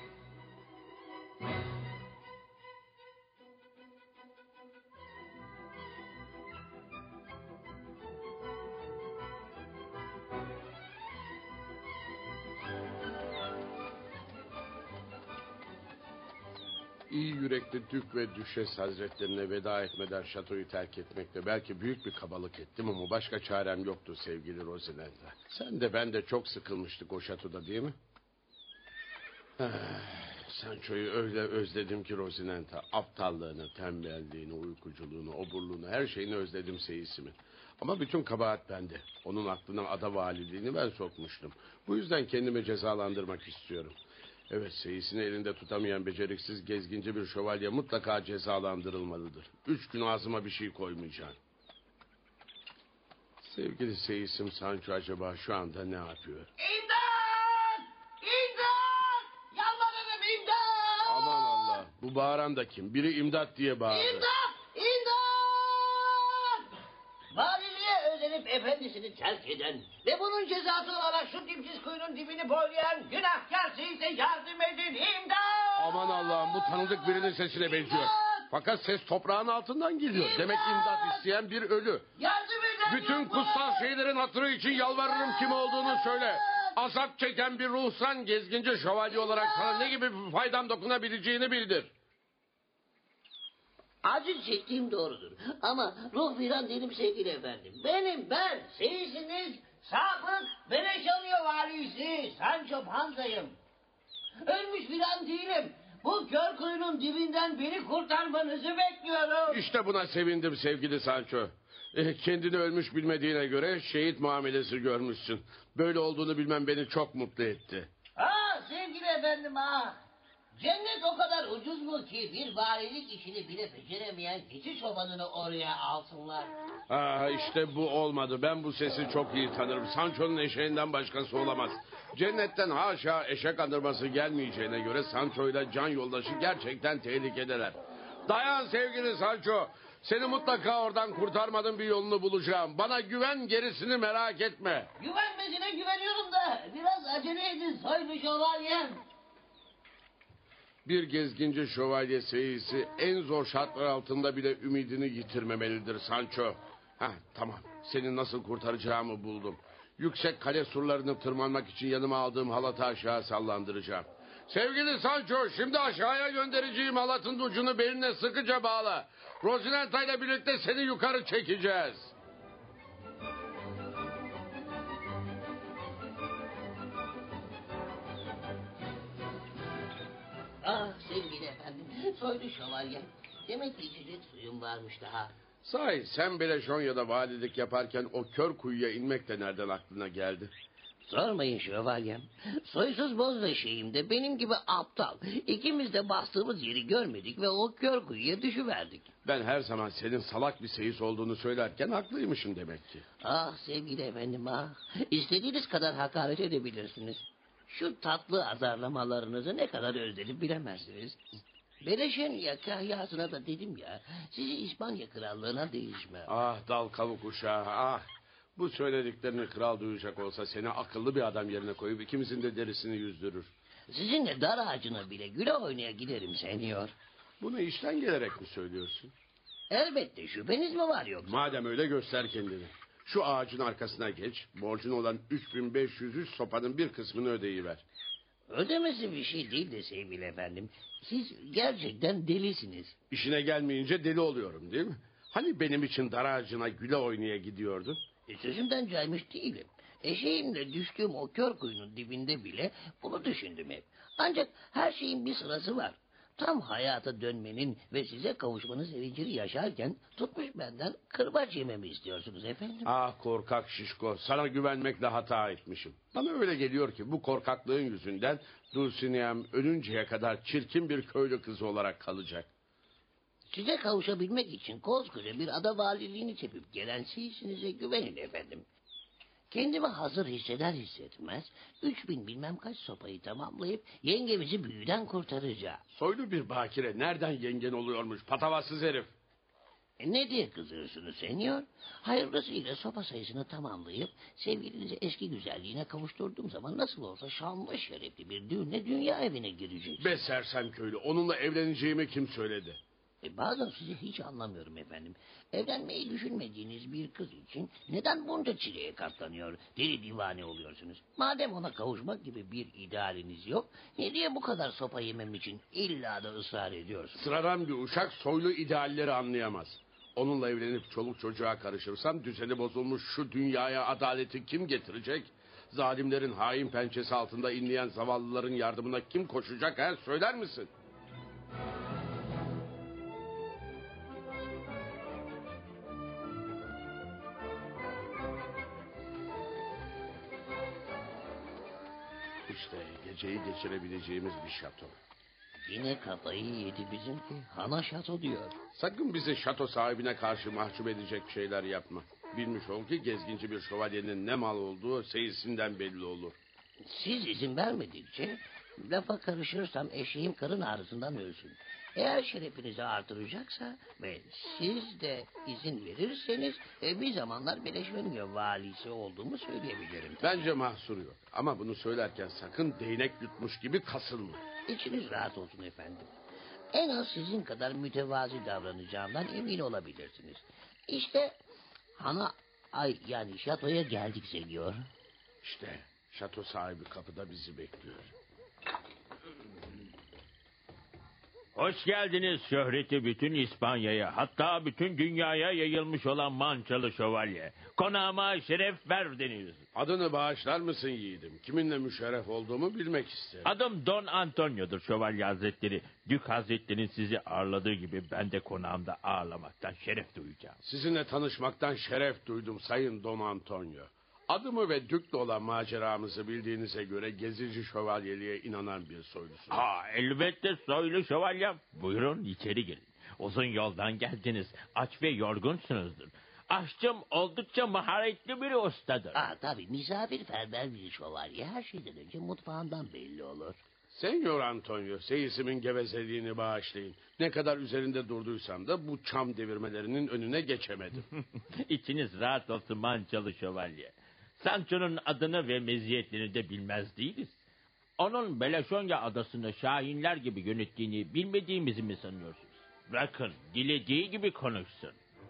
[SPEAKER 14] İyi yürekli Dük ve Düşes Hazretlerine veda etmeden şatoyu terk etmekte belki büyük bir kabalık ettim ama başka çarem yoktu sevgili Rosinante. Sen de ben de çok sıkılmıştık o şatoda değil mi? Sancho'yu öyle özledim ki Rosinante. Aptallığını, tembelliğini, uykuculuğunu, oburluğunu, her şeyini özledim seyisimin. Ama bütün kabahat bende. Onun aklına ada valiliğini ben sokmuştum. Bu yüzden kendimi cezalandırmak istiyorum. Evet, seyisini elinde tutamayan beceriksiz gezginci bir şövalye mutlaka cezalandırılmalıdır. Üç gün ağzıma bir şey koymayacağım. Sevgili seyisim Sancho acaba şu anda ne yapıyor?
[SPEAKER 15] İmdat! İmdat! Yalvarırım imdat!
[SPEAKER 14] Aman Allah, bu bağıran da kim? Biri imdat diye bağırdı.
[SPEAKER 15] İmdat! İmdat! Valiliğe özenip efendisini terk eden ve bunun cezası olarak şu dipsiz kuyunun dibini boylayan günahkar seyise yardım edin imdat!
[SPEAKER 14] Aman Allah'ım, bu tanıdık birinin sesine benziyor. Fakat ses toprağın altından geliyor. İmdat! Demek imdat isteyen bir ölü.
[SPEAKER 15] Yardım eden
[SPEAKER 14] bütün kutsal şeylerin hatırı için yalvarırım, kim olduğunu söyle. Azap çeken bir ruhsan gezginci şövalye olarak sana ne gibi bir faydam dokunabileceğini bildir.
[SPEAKER 15] Acı çektiğim doğrudur. Ama ruh filan değilim sevgili efendim. Benim ben seyisiniz sapık Beleşonya valisi Sancho Panza'yım. Ölmüş filan değilim. Bu kör kuyunun dibinden beni kurtarmanızı bekliyorum.
[SPEAKER 14] İşte buna sevindim sevgili Sancho. Eh, kendini ölmüş bilmediğine göre şehit muamelesi görmüşsün. Böyle olduğunu bilmem beni çok mutlu etti.
[SPEAKER 15] Ah sevgili efendim ah. Cennet o kadar ucuz mu ki bir valilik işini bile beceremeyen keçi çobanını oraya alsınlar.
[SPEAKER 14] Ah, işte bu olmadı. Ben bu sesi çok iyi tanırım. Sancho'nun eşeğinden başkası olamaz. Cennetten haşa eşek andırması gelmeyeceğine göre Sancho ile can yoldaşı gerçekten tehlikedeler. Dayan sevgili Sancho. Seni mutlaka oradan kurtarmanın bir yolunu bulacağım. Bana güven, gerisini merak etme.
[SPEAKER 15] Güvenmesine güveniyorum da biraz acele edin soylu şövalyem.
[SPEAKER 14] Bir gezginci şövalye seyisi en zor şartlar altında bile ümidini yitirmemelidir Sancho. Heh, tamam, seni nasıl kurtaracağımı buldum. Yüksek kale surlarını tırmanmak için yanıma aldığım halatı aşağı sallandıracağım. Sevgili Sancho, şimdi aşağıya göndereceğim halatın ucunu beline sıkıca bağla. Rosinante ile birlikte seni yukarı çekeceğiz.
[SPEAKER 15] Ah sevgili efendim, soylu şövalye. Demek ki içecek suyum varmış daha.
[SPEAKER 14] Sahi sen Beleşonya'da valilik yaparken o kör kuyuya inmek de nereden aklına geldi?
[SPEAKER 15] Sormayın şövalyem. Soysuz bozdaşıyım de benim gibi aptal. İkimiz de bastığımız yeri görmedik ve o kör kuyuya düşüverdik.
[SPEAKER 14] Ben her zaman senin salak bir seyis olduğunu söylerken haklıymışım demek ki.
[SPEAKER 15] Ah sevgili efendim ah. İstediğiniz kadar hakaret edebilirsiniz. Şu tatlı azarlamalarınızı ne kadar özledim bilemezsiniz. Beleşonya kahyasına da dedim ya, sizi İspanya krallığına değişme.
[SPEAKER 14] Ah dal kavuk uşağı ah. Bu söylediklerini kral duyacak olsa seni akıllı bir adam yerine koyup ikimizin de derisini yüzdürür.
[SPEAKER 15] Sizinle dar ağacına bile güle oynaya giderim senyor.
[SPEAKER 14] Bunu işten gelerek mi söylüyorsun?
[SPEAKER 15] Elbette, şüpheniz mi var yoksa?
[SPEAKER 14] Madem öyle göster kendini. Şu ağacın arkasına geç. Borcun olan üç bin beş yüz üç sopanın bir kısmını ödeyiver.
[SPEAKER 15] Ödemesi bir şey değil de sevgili efendim. Siz gerçekten delisiniz.
[SPEAKER 14] İşine gelmeyince deli oluyorum değil mi? Hani benim için dar ağacına güle oynaya gidiyordun?
[SPEAKER 15] E, sözümden caymış değilim. Eşeğimle düştüğüm o kör kuyunun dibinde bile bunu düşündüm hep. Ancak her şeyin bir sırası var. Tam hayata dönmenin ve size kavuşmanın sevincini yaşarken tutmuş benden kırbaç yememi istiyorsunuz efendim.
[SPEAKER 14] Ah korkak şişko, sana güvenmekle hata etmişim. Bana öyle geliyor ki bu korkaklığın yüzünden Dulcinea'm ölünceye kadar çirkin bir köylü kızı olarak kalacak.
[SPEAKER 15] Size kavuşabilmek için koskoca bir ada valiliğini çepip gelen sizsinize güvenin efendim. Kendimi hazır hisseder hissetmez üç bin bilmem kaç sopayı tamamlayıp yengemizi büyüden kurtaracağım.
[SPEAKER 14] Soylu bir bakire nereden yengen oluyormuş patavatsız herif?
[SPEAKER 15] E ne diye kızıyorsunuz senyor? Hayırlısıyla sopa sayısını tamamlayıp sevgilinizi eski güzelliğine kavuşturduğum zaman nasıl olsa şanlı şerefli bir düğünle dünya evine girecek.
[SPEAKER 14] Be sersem köylü, onunla evleneceğimi kim söyledi?
[SPEAKER 15] E bazen sizi hiç anlamıyorum efendim. Evlenmeyi düşünmediğiniz bir kız için neden bunca çileye katlanıyor, deli divane oluyorsunuz? Madem ona kavuşmak gibi bir idealiniz yok, ne diye bu kadar sopa yemem için illa da ısrar ediyorsunuz?
[SPEAKER 14] Sıradan bir uşak soylu idealleri anlayamaz. Onunla evlenip çoluk çocuğa karışırsam düzeni bozulmuş şu dünyaya adaleti kim getirecek? Zalimlerin hain pençesi altında inleyen zavallıların yardımına kim koşacak her söyler misin? İşte geceyi geçirebileceğimiz bir şato.
[SPEAKER 15] Yine kafayı yedi bizimki. Hana şato diyor.
[SPEAKER 14] Sakın bizi şato sahibine karşı mahcup edecek şeyler yapma. Bilmiş ol ki gezginci bir şövalyenin ne mal olduğu seyisinden belli olur.
[SPEAKER 15] Siz izin vermedikçe lafa karışırsam eşeğim karın ağrısından ölsün. Eğer şerefinizi artıracaksa ve siz de izin verirseniz e, bir zamanlar Beleşven'in valisi olduğumu söyleyebilirim.
[SPEAKER 14] Bence mahsur yok. Ama bunu söylerken sakın değnek yutmuş gibi kasılma.
[SPEAKER 15] İçiniz rahat olsun efendim. En az sizin kadar mütevazi davranacağımdan emin olabilirsiniz. İşte hana ay yani şatoya geldik senyor.
[SPEAKER 14] İşte şato sahibi kapıda bizi bekliyor.
[SPEAKER 16] Hoş geldiniz şöhreti bütün İspanya'ya, hatta bütün dünyaya yayılmış olan Mançalı Şövalye. Konağıma şeref verdiniz.
[SPEAKER 14] Adını bağışlar mısın yiğidim? Kiminle müşerref olduğumu bilmek isterim.
[SPEAKER 16] Adım Don Antonio'dur Şövalye Hazretleri. Dük Hazretleri'nin sizi ağırladığı gibi ben de konağımda ağırlamaktan şeref duyacağım.
[SPEAKER 14] Sizinle tanışmaktan şeref duydum Sayın Don Antonio. Adımı ve Dük'le olan maceramızı bildiğinize göre gezici şövalyeliğe inanan bir soylusunuz.
[SPEAKER 16] Ha, elbette soylu şövalyem. Buyurun içeri girin. Uzun yoldan geldiniz. Aç ve yorgunsunuzdur. Aşçım oldukça maharetli bir ustadır.
[SPEAKER 15] Aa, tabii misafirperver bir şövalye her şeyden önce mutfağından belli olur.
[SPEAKER 14] Senyor Antonio, seyisimin gevezeliğini bağışlayın. Ne kadar üzerinde durduysam da bu çam devirmelerinin önüne geçemedim.
[SPEAKER 16] İçiniz rahat olsun Mançalı Şövalye. Sancho'nun adını ve meziyetlerini de bilmez değiliz. Onun Beleşonya adasını şahinler gibi yönettiğini bilmediğimizi mi sanıyorsunuz? Bırakın dilediği gibi konuşsun.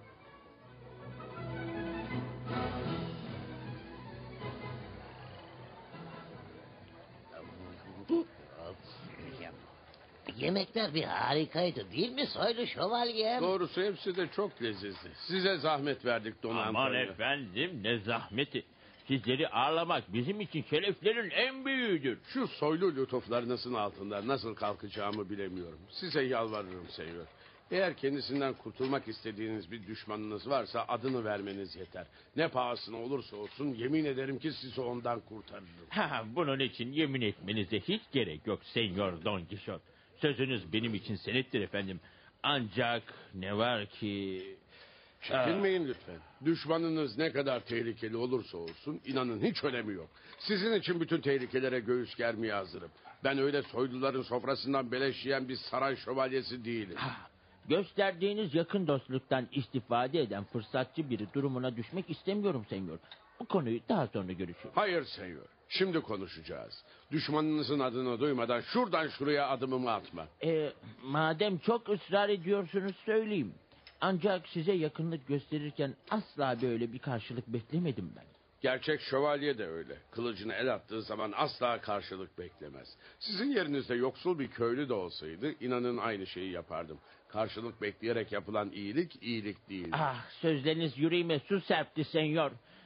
[SPEAKER 15] Yemekler bir harikaydı değil mi soylu şövalyem?
[SPEAKER 14] Doğrusu hepsi de çok lezzetli. Size zahmet verdik Don Antonio.
[SPEAKER 16] Aman efendim ne zahmeti. Sizleri ağırlamak bizim için şereflerin en büyüğüdür.
[SPEAKER 14] Şu soylu lütuflarınızın altında nasıl kalkacağımı bilemiyorum. Size yalvarırım senyor. Eğer kendisinden kurtulmak istediğiniz bir düşmanınız varsa adını vermeniz yeter. Ne pahasına olursa olsun yemin ederim ki sizi ondan kurtarırım.
[SPEAKER 16] Ha, bunun için yemin etmenize hiç gerek yok Senyor Don Kişot. Sözünüz benim için senettir efendim. Ancak ne var ki...
[SPEAKER 14] Çekinmeyin lütfen. Düşmanınız ne kadar tehlikeli olursa olsun inanın hiç önemi yok. Sizin için bütün tehlikelere göğüs germeye hazırım. Ben öyle soyluların sofrasından beleş yiyen bir saray şövalyesi değilim.
[SPEAKER 16] Ha, gösterdiğiniz yakın dostluktan istifade eden fırsatçı biri durumuna düşmek istemiyorum senyor. Bu konuyu daha sonra görüşürüz.
[SPEAKER 14] Hayır senyor. Şimdi konuşacağız. Düşmanınızın adını duymadan şuradan şuraya adımımı atma.
[SPEAKER 16] Ee, madem çok ısrar ediyorsunuz söyleyeyim. Ancak size yakınlık gösterirken asla böyle bir karşılık beklemedim ben.
[SPEAKER 14] Gerçek şövalye de öyle. Kılıcını el attığı zaman asla karşılık beklemez. Sizin yerinizde yoksul bir köylü de olsaydı inanın aynı şeyi yapardım. Karşılık bekleyerek yapılan iyilik iyilik değil.
[SPEAKER 16] Ah, sözleriniz yüreğime su serpti senyor.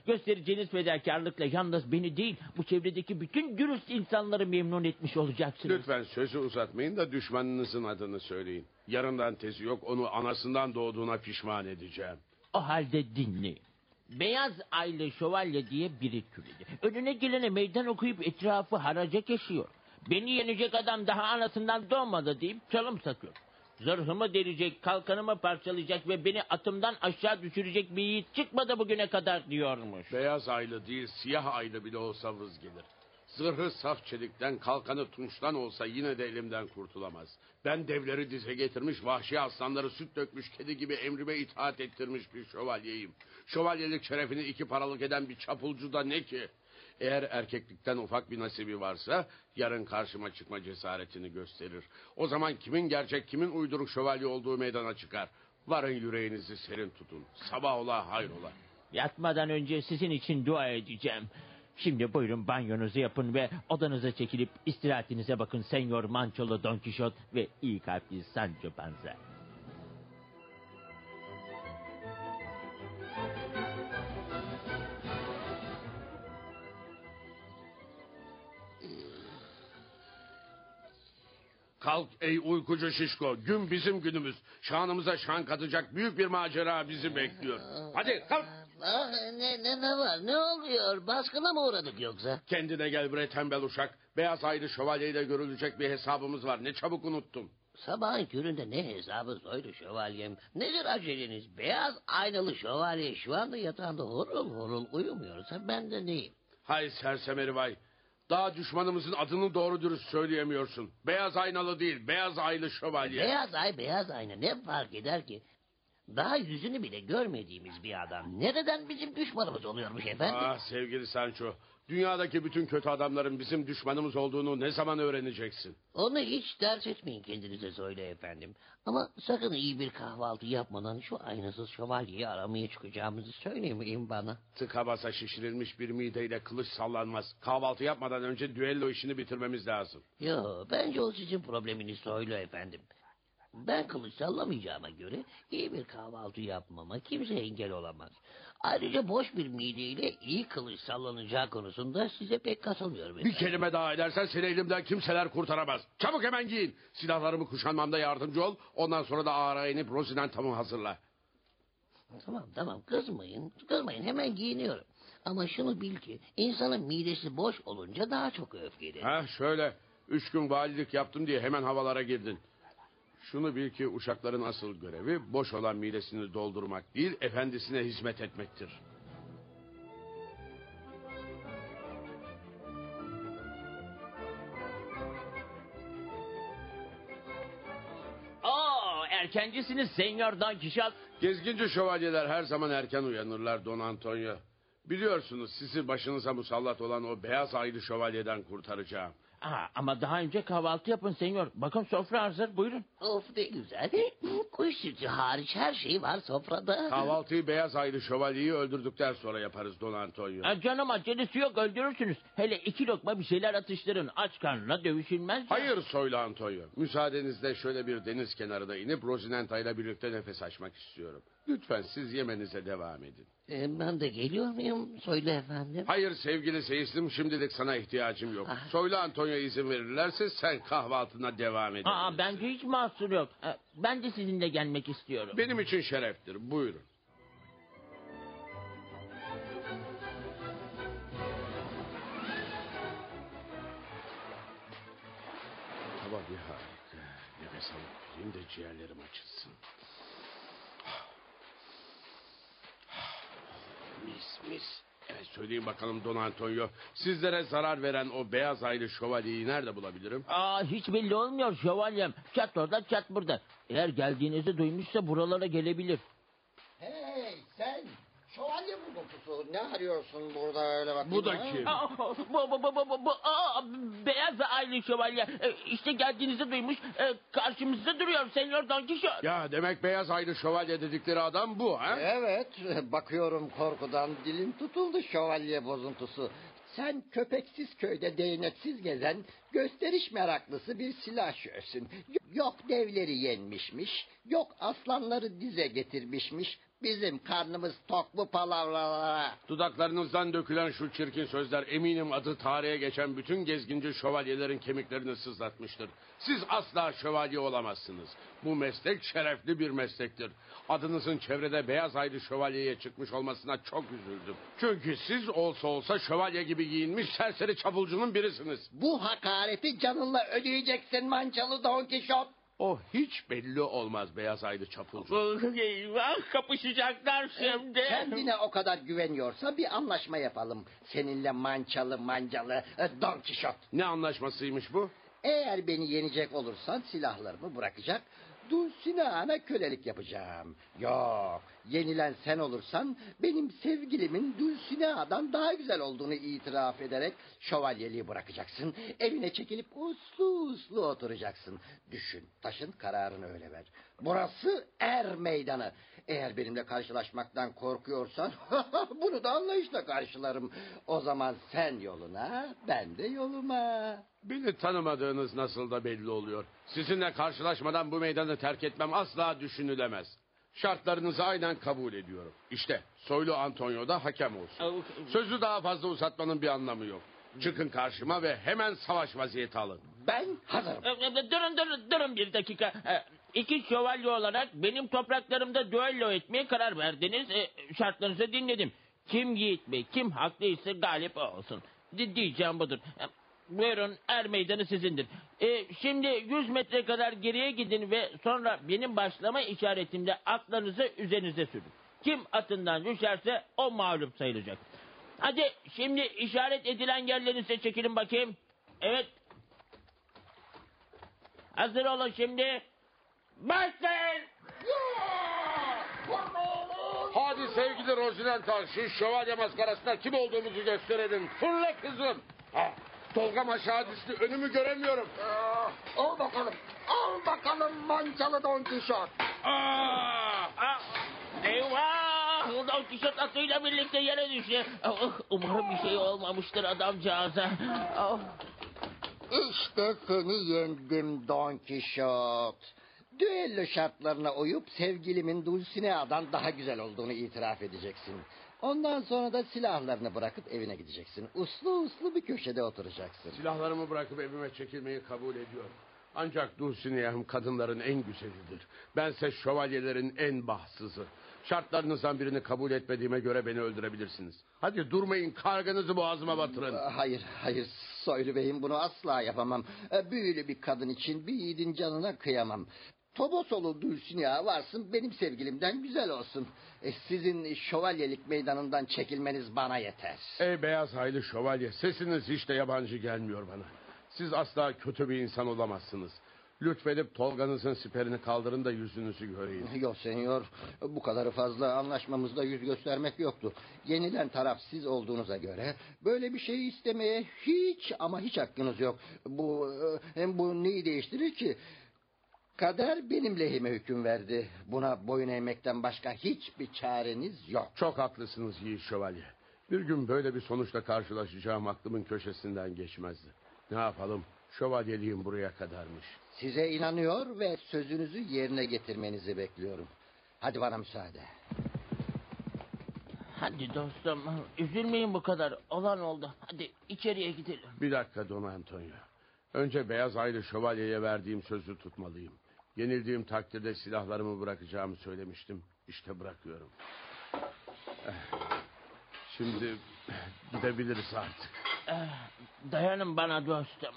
[SPEAKER 16] Göstereceğiniz fedakarlıkla yalnız beni değil, bu çevredeki bütün dürüst insanları memnun etmiş olacaksınız.
[SPEAKER 14] Lütfen sözü uzatmayın da düşmanınızın adını söyleyin. Yarından tezi yok, onu anasından doğduğuna pişman edeceğim.
[SPEAKER 16] O halde dinle. Beyaz Aylı Şövalye diye biri türedi. Önüne gelene meydan okuyup etrafı haraca kesiyor. Beni yenecek adam daha anasından doğmadı deyip çalım satıyor. Zırhımı delecek, kalkanımı parçalayacak ve beni atımdan aşağı düşürecek bir yiğit çıkmadı bugüne kadar diyormuş.
[SPEAKER 14] Beyaz aylı değil, siyah aylı bile olsa vız gelir. Zırhı saf çelikten, kalkanı tunçtan olsa yine de elimden kurtulamaz. Ben devleri dize getirmiş, vahşi aslanları süt dökmüş kedi gibi emrime itaat ettirmiş bir şövalyeyim. Şövalyelik şerefini iki paralık eden bir çapulcu da ne ki? Eğer erkeklikten ufak bir nasibi varsa yarın karşıma çıkma cesaretini gösterir. O zaman kimin gerçek kimin uyduruk şövalye olduğu meydana çıkar. Varın yüreğinizi serin tutun. Sabah ola hayrola.
[SPEAKER 16] Yatmadan önce sizin için dua edeceğim. Şimdi buyurun banyonuzu yapın ve odanıza çekilip istirahatinize bakın Senyor Mançolu Don Kişot ve iyi kalpli Sancho Panza.
[SPEAKER 14] Kalk ey uykucu şişko. Gün bizim günümüz. Şanımıza şan katacak büyük bir macera bizi bekliyor. Hadi kalk.
[SPEAKER 15] Ah, ne, ne, ne var? Ne oluyor? Baskına mı uğradık yoksa?
[SPEAKER 14] Kendine gel bre tembel uşak. Beyaz aylı şövalyeyle görülecek bir hesabımız var. Ne çabuk unuttum.
[SPEAKER 15] Sabahın köründe ne hesabı soydu şövalyem? Nedir aceleniz? Beyaz aynalı şövalye şu anda yatağında horul horul uyumuyorsa ben de neyim?
[SPEAKER 14] Hay sersemeri vay. Daha düşmanımızın adını doğru dürüst söyleyemiyorsun. Beyaz aynalı değil, beyaz aylı şövalye.
[SPEAKER 15] Beyaz ay, beyaz ayna ne fark eder ki? Daha yüzünü bile görmediğimiz bir adam nereden bizim düşmanımız oluyormuş efendim?
[SPEAKER 14] Ah sevgili Sancho, dünyadaki bütün kötü adamların bizim düşmanımız olduğunu ne zaman öğreneceksin?
[SPEAKER 15] Onu hiç dert etmeyin kendinize söyle efendim. Ama sakın iyi bir kahvaltı yapmadan şu aynasız şövalyeyi aramaya çıkacağımızı söylemeyin bana.
[SPEAKER 14] Tıka basa şişirilmiş bir mideyle kılıç sallanmaz. Kahvaltı yapmadan önce düello işini bitirmemiz lazım.
[SPEAKER 15] Yo, bence o sizin probleminiz söyle efendim. Ben kılıç sallamayacağıma göre iyi bir kahvaltı yapmama kimse engel olamaz. Ayrıca boş bir mideyle iyi kılıç sallanacağı konusunda size pek katılmıyorum efendim.
[SPEAKER 14] Bir kelime daha edersen seni elimden kimseler kurtaramaz. Çabuk hemen giyin. Silahlarımı kuşanmamda yardımcı ol. Ondan sonra da ağara inip Rosinantam'ı hazırla.
[SPEAKER 15] Tamam tamam kızmayın. Kızmayın hemen giyiniyorum. Ama şunu bil ki insanın midesi boş olunca daha çok öfkeli.
[SPEAKER 14] Ha şöyle. Üç gün valilik yaptım diye hemen havalara girdin. Şunu bil ki uşakların asıl görevi boş olan midesini doldurmak değil, efendisine hizmet etmektir.
[SPEAKER 16] Oo, erkencisiniz Senyor Don Kişot.
[SPEAKER 14] Gezginci şövalyeler her zaman erken uyanırlar Don Antonio. Biliyorsunuz sizi başınıza musallat olan o beyaz aylı şövalyeden kurtaracağım.
[SPEAKER 16] Aa, ama daha önce kahvaltı yapın senyor. Bakın sofra hazır buyurun.
[SPEAKER 15] Of ne güzel. Kuş sütü hariç her şey var sofrada.
[SPEAKER 14] Kahvaltıyı beyaz aylı şövalyeyi öldürdükten sonra yaparız Don Antonio.
[SPEAKER 16] Aa, canım acelesi yok öldürürsünüz. Hele iki lokma bir şeyler atıştırın. Aç karnına dövüşülmez.
[SPEAKER 14] Hayır Soylu Antonio. Müsaadenizle şöyle bir deniz kenarına inip Rosinanta ile birlikte nefes açmak istiyorum. Lütfen siz yemenize devam edin.
[SPEAKER 15] Ee, ben de geliyor muyum? Söyle efendim.
[SPEAKER 14] Hayır sevgili seyislim şimdilik sana ihtiyacım yok. Ah. Soylu Antonio izin verirlerse sen kahvaltına devam edin.
[SPEAKER 16] Aa, bence hiç mahsur yok. Ben de sizinle gelmek istiyorum.
[SPEAKER 14] Benim için şereftir. Buyurun. Hava bir harika. Nefes alıp vereyim de ciğerlerim açılsın. Mis mis. Evet söyleyin bakalım Don Antonio. Sizlere zarar veren o beyaz aylı şövalyeyi nerede bulabilirim?
[SPEAKER 16] Aa, hiç belli olmuyor şövalyem. Çat orada çat burada. Eğer geldiğinizi duymuşsa buralara gelebilir.
[SPEAKER 15] Hey sen şövalye buluntusu ne arıyorsun burada öyle bakayım?
[SPEAKER 14] Bu da kim?
[SPEAKER 16] Aa, bu, bu, bu, bu, bu, bu, aa, beyaz aylı şövalye. Ee, işte geldiğinizi duymuş. Ee, karşımızda duruyor Senyor Don Kişot.
[SPEAKER 14] Ya demek beyaz aylı şövalye dedikleri adam bu ha?
[SPEAKER 17] Evet bakıyorum korkudan dilim tutuldu şövalye bozuntusu. Sen köpeksiz köyde değneksiz gezen gösteriş meraklısı bir silahşörsün. Yok devleri yenmişmiş, yok aslanları dize getirmişmiş. Bizim karnımız tok bu palavralara.
[SPEAKER 14] Dudaklarınızdan dökülen şu çirkin sözler eminim adı tarihe geçen bütün gezginci şövalyelerin kemiklerini sızlatmıştır. Siz asla şövalye olamazsınız. Bu meslek şerefli bir meslektir. Adınızın çevrede beyaz aylı şövalyeye çıkmış olmasına çok üzüldüm. Çünkü siz olsa olsa şövalye gibi giyinmiş serseri çapulcunun birisiniz.
[SPEAKER 17] Bu hakareti canınla ödeyeceksin mançalı Don Kişot.
[SPEAKER 14] O hiç belli olmaz beyaz aylı çapulcu.
[SPEAKER 16] Eyvah, kapışacaklar şimdi.
[SPEAKER 17] Kendine o kadar güveniyorsa bir anlaşma yapalım. Seninle mançalı mancalı Don Kişot.
[SPEAKER 14] Ne anlaşmasıymış bu?
[SPEAKER 17] Eğer beni yenecek olursan silahlarımı bırakacak, Dulcinea'na kölelik yapacağım. Yok, yenilen sen olursan benim sevgilimin Dulcinea'dan daha güzel olduğunu itiraf ederek şövalyeliği bırakacaksın. Evine çekilip uslu uslu oturacaksın. Düşün, taşın kararını öyle ver. Burası er meydanı. Eğer benimle karşılaşmaktan korkuyorsan bunu da anlayışla karşılarım. O zaman sen yoluna, ben de yoluma.
[SPEAKER 14] Beni tanımadığınız nasıl da belli oluyor. Sizinle karşılaşmadan bu meydanı terk etmem asla düşünülemez. Şartlarınızı aynen kabul ediyorum. İşte soylu Antonio da hakem olsun. Sözü daha fazla uzatmanın bir anlamı yok. Çıkın karşıma ve hemen savaş vaziyeti alın.
[SPEAKER 17] Ben hazırım.
[SPEAKER 16] Durun durun durun bir dakika. İki şövalye olarak benim topraklarımda düello etmeye karar verdiniz. Şartlarınızı dinledim. Kim yiğit bey, kim haklıysa galip olsun. Diyeceğim budur. Buyurun, er meydanı sizindir. Ee, şimdi yüz metre kadar geriye gidin ve sonra benim başlama işaretimle atlarınızı üzerinize sürün. Kim atından düşerse o mağlup sayılacak. Hadi şimdi işaret edilen yerlerinize çekilin bakayım. Evet. Hazır olun şimdi. Başlayın.
[SPEAKER 14] Hadi sevgili Rosinanta, şu şövalye maskarasında kim olduğumuzu gösterelim. Fırla kızım. Ha, Tolgam aşağı düştü, önümü göremiyorum.
[SPEAKER 17] Aa, al bakalım, al bakalım mançalı Don Kişot.
[SPEAKER 16] Eyvah! Don Kişot atıyla birlikte yere düştü. Umarım bir şey olmamıştır adamcağıza.
[SPEAKER 17] İşte seni yendim Don Kişot. Düello şartlarına uyup sevgilimin Dulcinea'dan daha güzel olduğunu itiraf edeceksin. Ondan sonra da silahlarını bırakıp evine gideceksin. Uslu uslu bir köşede oturacaksın.
[SPEAKER 14] Silahlarımı bırakıp evime çekilmeyi kabul ediyorum. Ancak Dulcinea'm kadınların en güzelidir. Bense şövalyelerin en bahtsızı. Şartlarınızdan birini kabul etmediğime göre beni öldürebilirsiniz. Hadi durmayın, karganızı boğazıma batırın.
[SPEAKER 17] Hayır, hayır Soylu Bey'im, bunu asla yapamam. Büyülü bir kadın için bir yiğidin canına kıyamam. Tobosolu Dulcinea varsın benim sevgilimden güzel olsun. E, sizin şövalyelik meydanından çekilmeniz bana yeter.
[SPEAKER 14] Ey beyaz haylı şövalye, sesiniz hiç de yabancı gelmiyor bana. Siz asla kötü bir insan olamazsınız. Lütfedip Tolga'nızın siperini kaldırın da yüzünüzü göreyim.
[SPEAKER 17] Yok senyor, bu kadarı fazla, anlaşmamızda yüz göstermek yoktu. Yenilen taraf siz olduğunuza göre böyle bir şeyi istemeye hiç ama hiç hakkınız yok. Bu hem bu neyi değiştirir ki? Kader benim lehime hüküm verdi. Buna boyun eğmekten başka hiçbir çareniz yok.
[SPEAKER 14] Çok haklısınız yiğit şövalye. Bir gün böyle bir sonuçla karşılaşacağım aklımın köşesinden geçmezdi. Ne yapalım? Şövalyeliğim buraya kadarmış.
[SPEAKER 17] Size inanıyor ve sözünüzü yerine getirmenizi bekliyorum. Hadi bana müsaade.
[SPEAKER 16] Hadi dostum, üzülmeyin bu kadar. Olan oldu. Hadi içeriye gidelim.
[SPEAKER 14] Bir dakika Don Antonio. Önce beyaz aylı şövalyeye verdiğim sözü tutmalıyım. Yenildiğim takdirde silahlarımı bırakacağımı söylemiştim. İşte bırakıyorum. Şimdi gidebiliriz artık.
[SPEAKER 16] Dayanın bana dostum.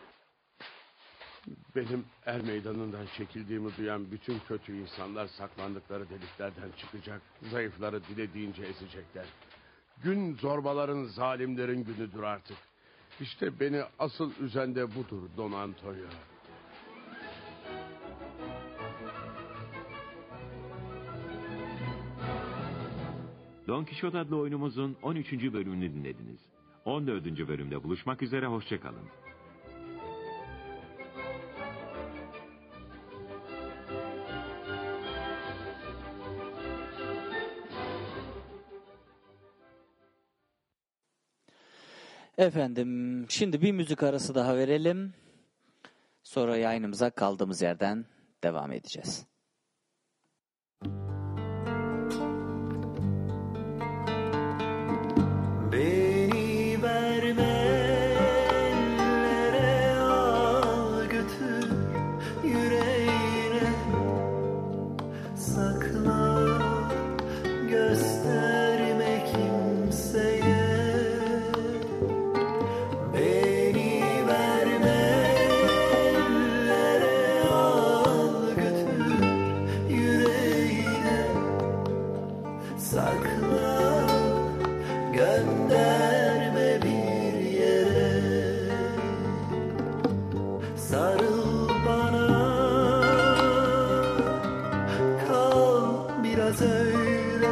[SPEAKER 14] Benim er meydanından çekildiğimi duyan bütün kötü insanlar saklandıkları deliklerden çıkacak. Zayıfları dilediğince ezecekler. Gün zorbaların, zalimlerin günüdür artık. İşte beni asıl üzen de budur Don Antonio.
[SPEAKER 13] Don Kişot adlı oyunumuzun on üçüncü bölümünü dinlediniz. on dördüncü bölümde buluşmak üzere, hoşça kalın.
[SPEAKER 4] Efendim, şimdi bir müzik arası daha verelim. Sonra yayınımıza kaldığımız yerden devam edeceğiz.
[SPEAKER 5] gönderme bir yere. Sarıl bana, kal biraz öyle,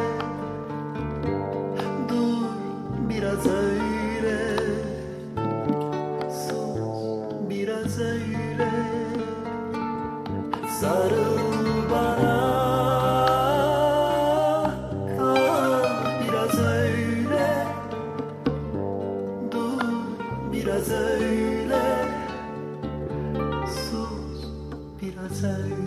[SPEAKER 5] dur biraz öyle, sus biraz öyle. Sarıl bana, kal biraz öyle, dur biraz öyle, sus biraz öyle.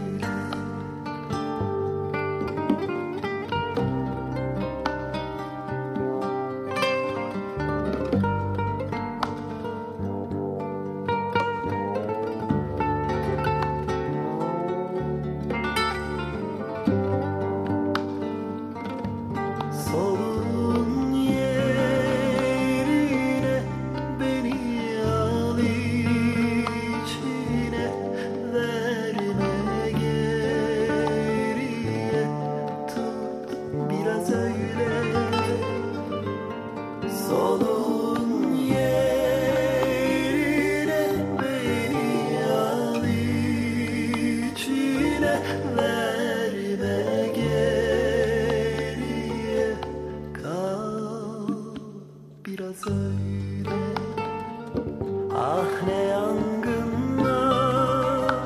[SPEAKER 5] Solun yerine beni al içine, verme geriye, tut biraz öyle. Solun yerine beni al içine, verme geriye, kal biraz öyle. Ah ne yangınlar,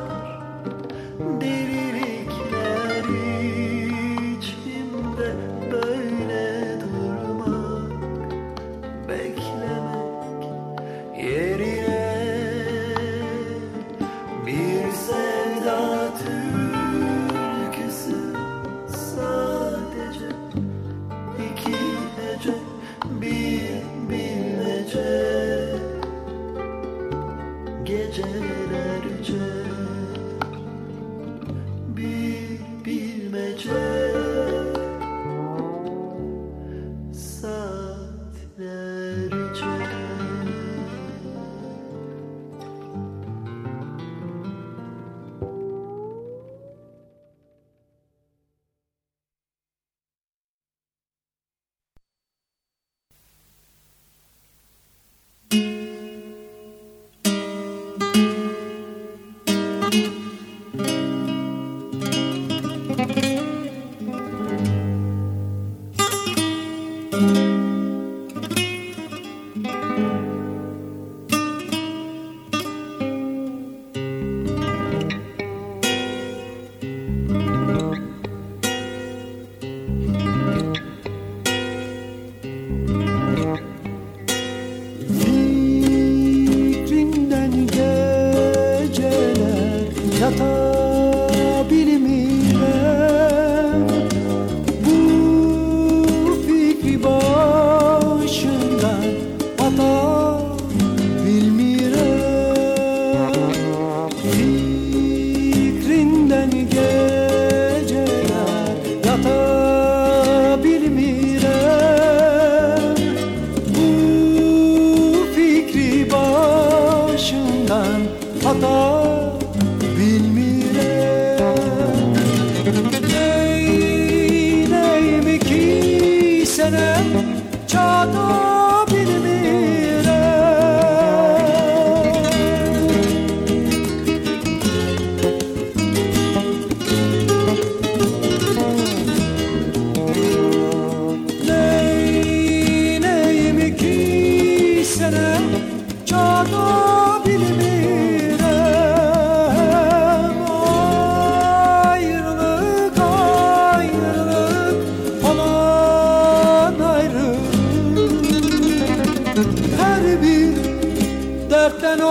[SPEAKER 5] delilikler içimde, böyle durmak, beklemek yerine bir sevda türküsü, sadece iki hece, bir bilmece, gecelerce bir bilmece, saatlerce. Fikrinden geceler yatabilirim, bu fikri başından atabilmirem. Fikrinden geceler yatabilirim, bu fikri başından atabilmirem. Neyleyim ki senem çatabilmirem. Neyleyim ki senem çatabilmirem. Ayrılık ayrılık aman ayrılık, her bir dertten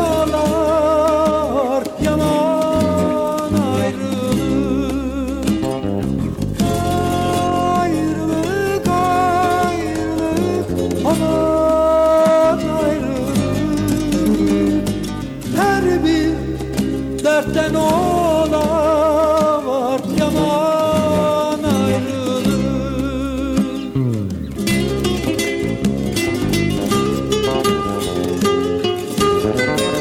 [SPEAKER 5] ağlar yaman ayrılık. Ayrılık ayrılık aman ayrılık, her bir dertten ağlar yaman ayrılık. Thank you.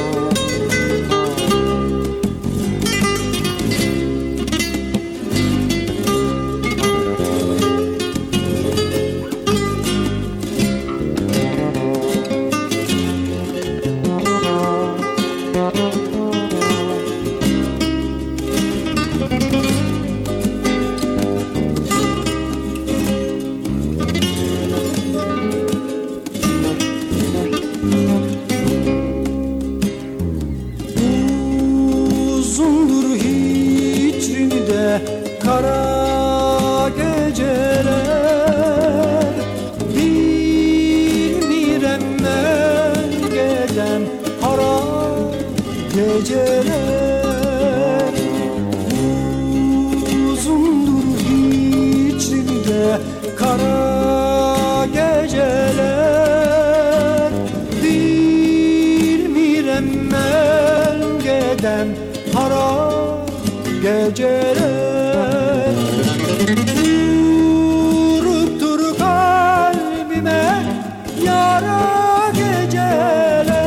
[SPEAKER 3] geceler Vurup dur kalbime yara geceler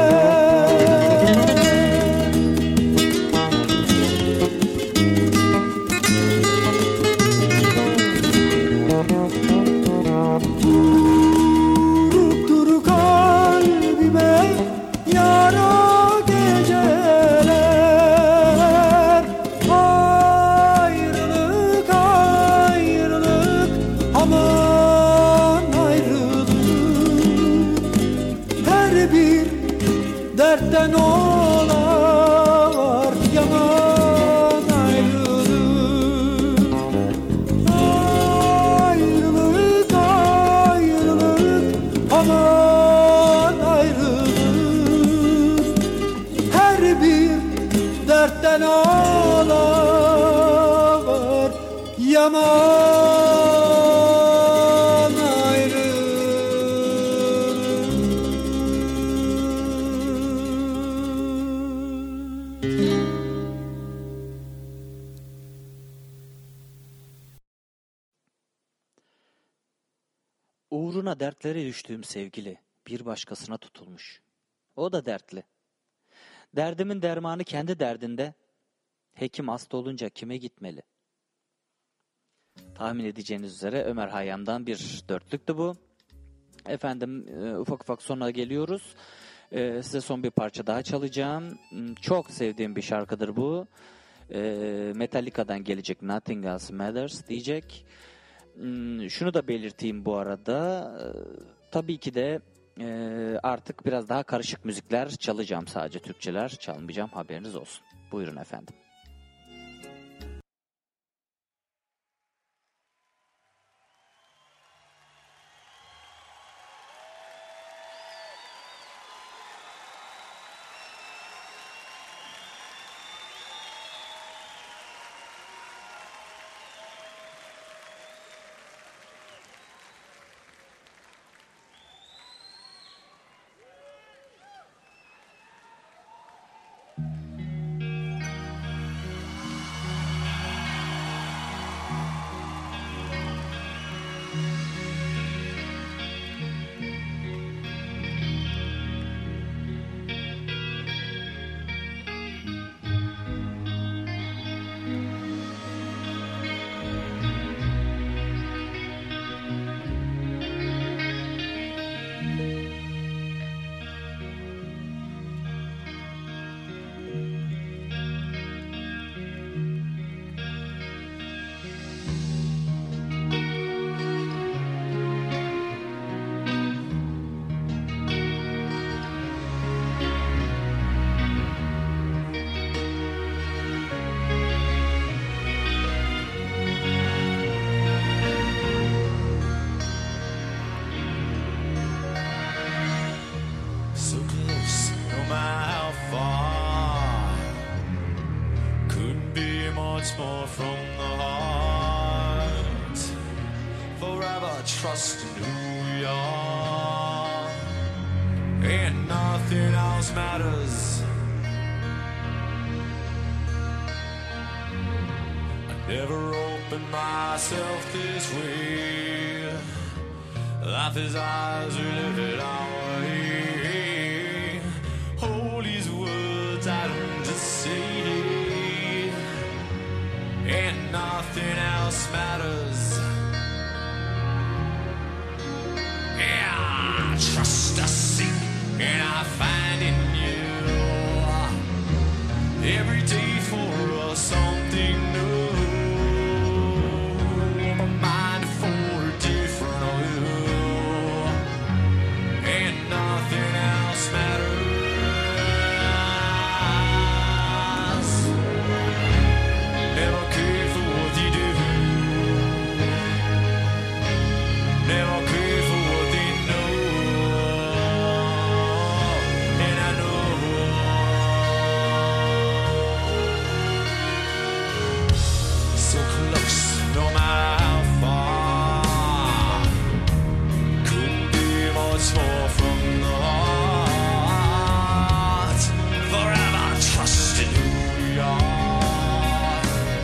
[SPEAKER 3] Vurup dur kalbime yara geceler Ayrılık ayrılık aman ayrılık Her bir dertten olar yaman ayrılık Ayrılık ayrılık aman ayrılık Her bir dertten ağlar yaman
[SPEAKER 4] Uğruna dertlere düştüğüm sevgili bir başkasına tutulmuş. O da dertli. Derdimin dermanı kendi derdinde. Hekim hasta olunca kime gitmeli? Tahmin edeceğiniz üzere Ömer Hayyam'dan bir dörtlüktü bu. Efendim e, ufak ufak sona geliyoruz. E, size son bir parça daha çalacağım. Çok sevdiğim bir şarkıdır bu. E, Metallica'dan gelecek Nothing Else Matters diyecek. Şunu da belirteyim bu arada. E, tabii ki de e, artık biraz daha karışık müzikler çalacağım. Sadece Türkçeler çalmayacağım, haberiniz olsun. Buyurun efendim.
[SPEAKER 5] Trust in who we are, and nothing else matters. I never opened myself this way. Life is ours, we live it our way. Hold these words I don't just say, and nothing else matters. Yeah, trust I seek and I find in you. Every day for us something new. My mind for a different view, and nothing else matters. Never care for what you do. Never care for what they know. And I know so close, no matter how far. Couldn't be much more from the heart. Forever trusting who we are,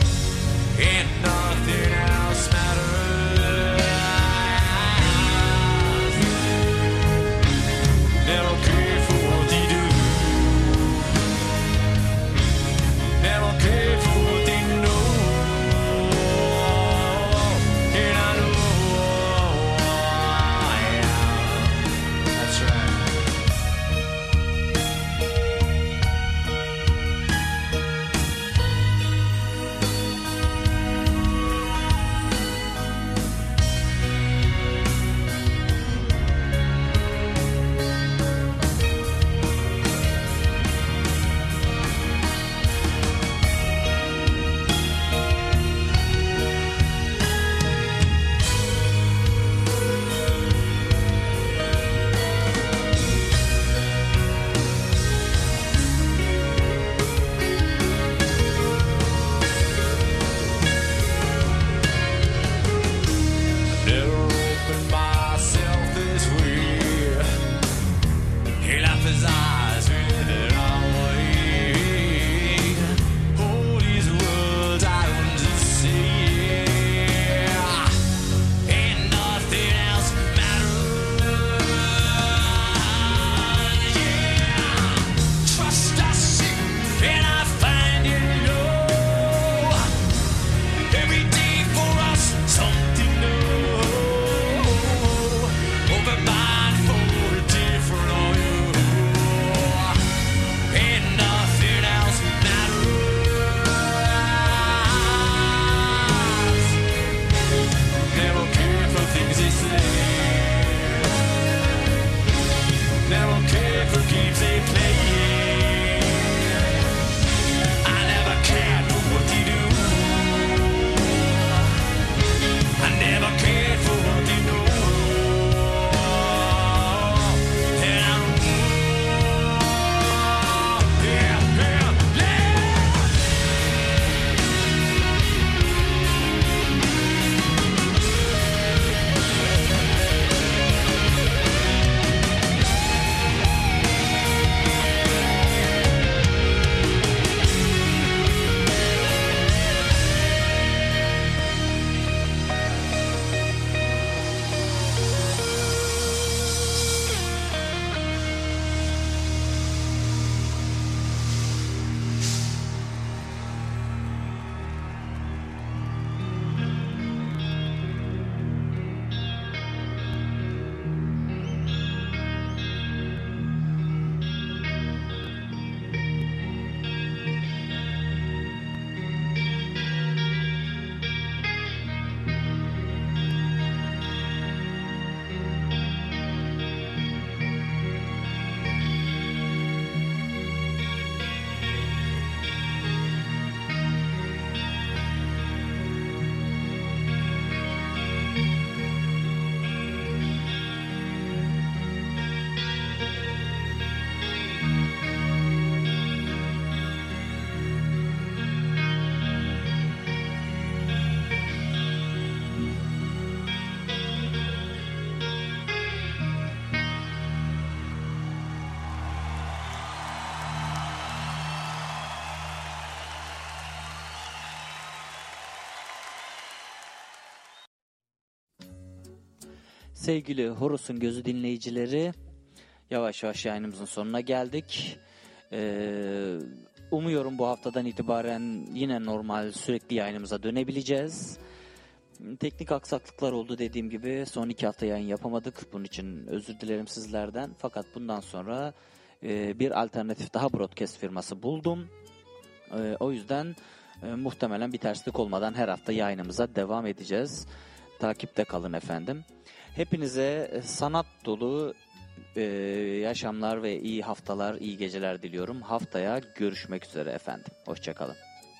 [SPEAKER 4] Sevgili Horus'un Gözü dinleyicileri, yavaş yavaş yayınımızın sonuna geldik. Ee, umuyorum bu haftadan itibaren yine normal sürekli yayınımıza dönebileceğiz. Teknik aksaklıklar oldu dediğim gibi. Son iki hafta yayın yapamadık. Bunun için özür dilerim sizlerden. Fakat bundan sonra e, bir alternatif daha broadcast firması buldum. E, o yüzden e, muhtemelen bir terslik olmadan her hafta yayınımıza devam edeceğiz. Takipte kalın efendim. Hepinize sanat dolu e, yaşamlar ve iyi haftalar, iyi geceler diliyorum. Haftaya görüşmek üzere efendim. Hoşçakalın.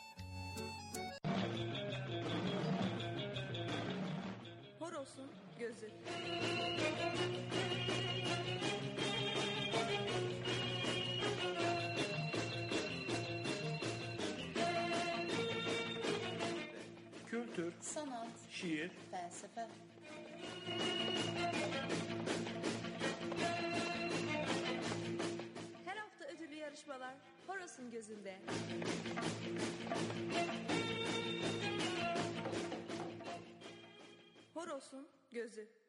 [SPEAKER 7] Horos'un gözü.
[SPEAKER 18] Kültür,
[SPEAKER 7] Sanat,
[SPEAKER 18] şiir,
[SPEAKER 7] felsefe. Her hafta ödüllü yarışmalar Horos'un gözünde. Horos'un gözü.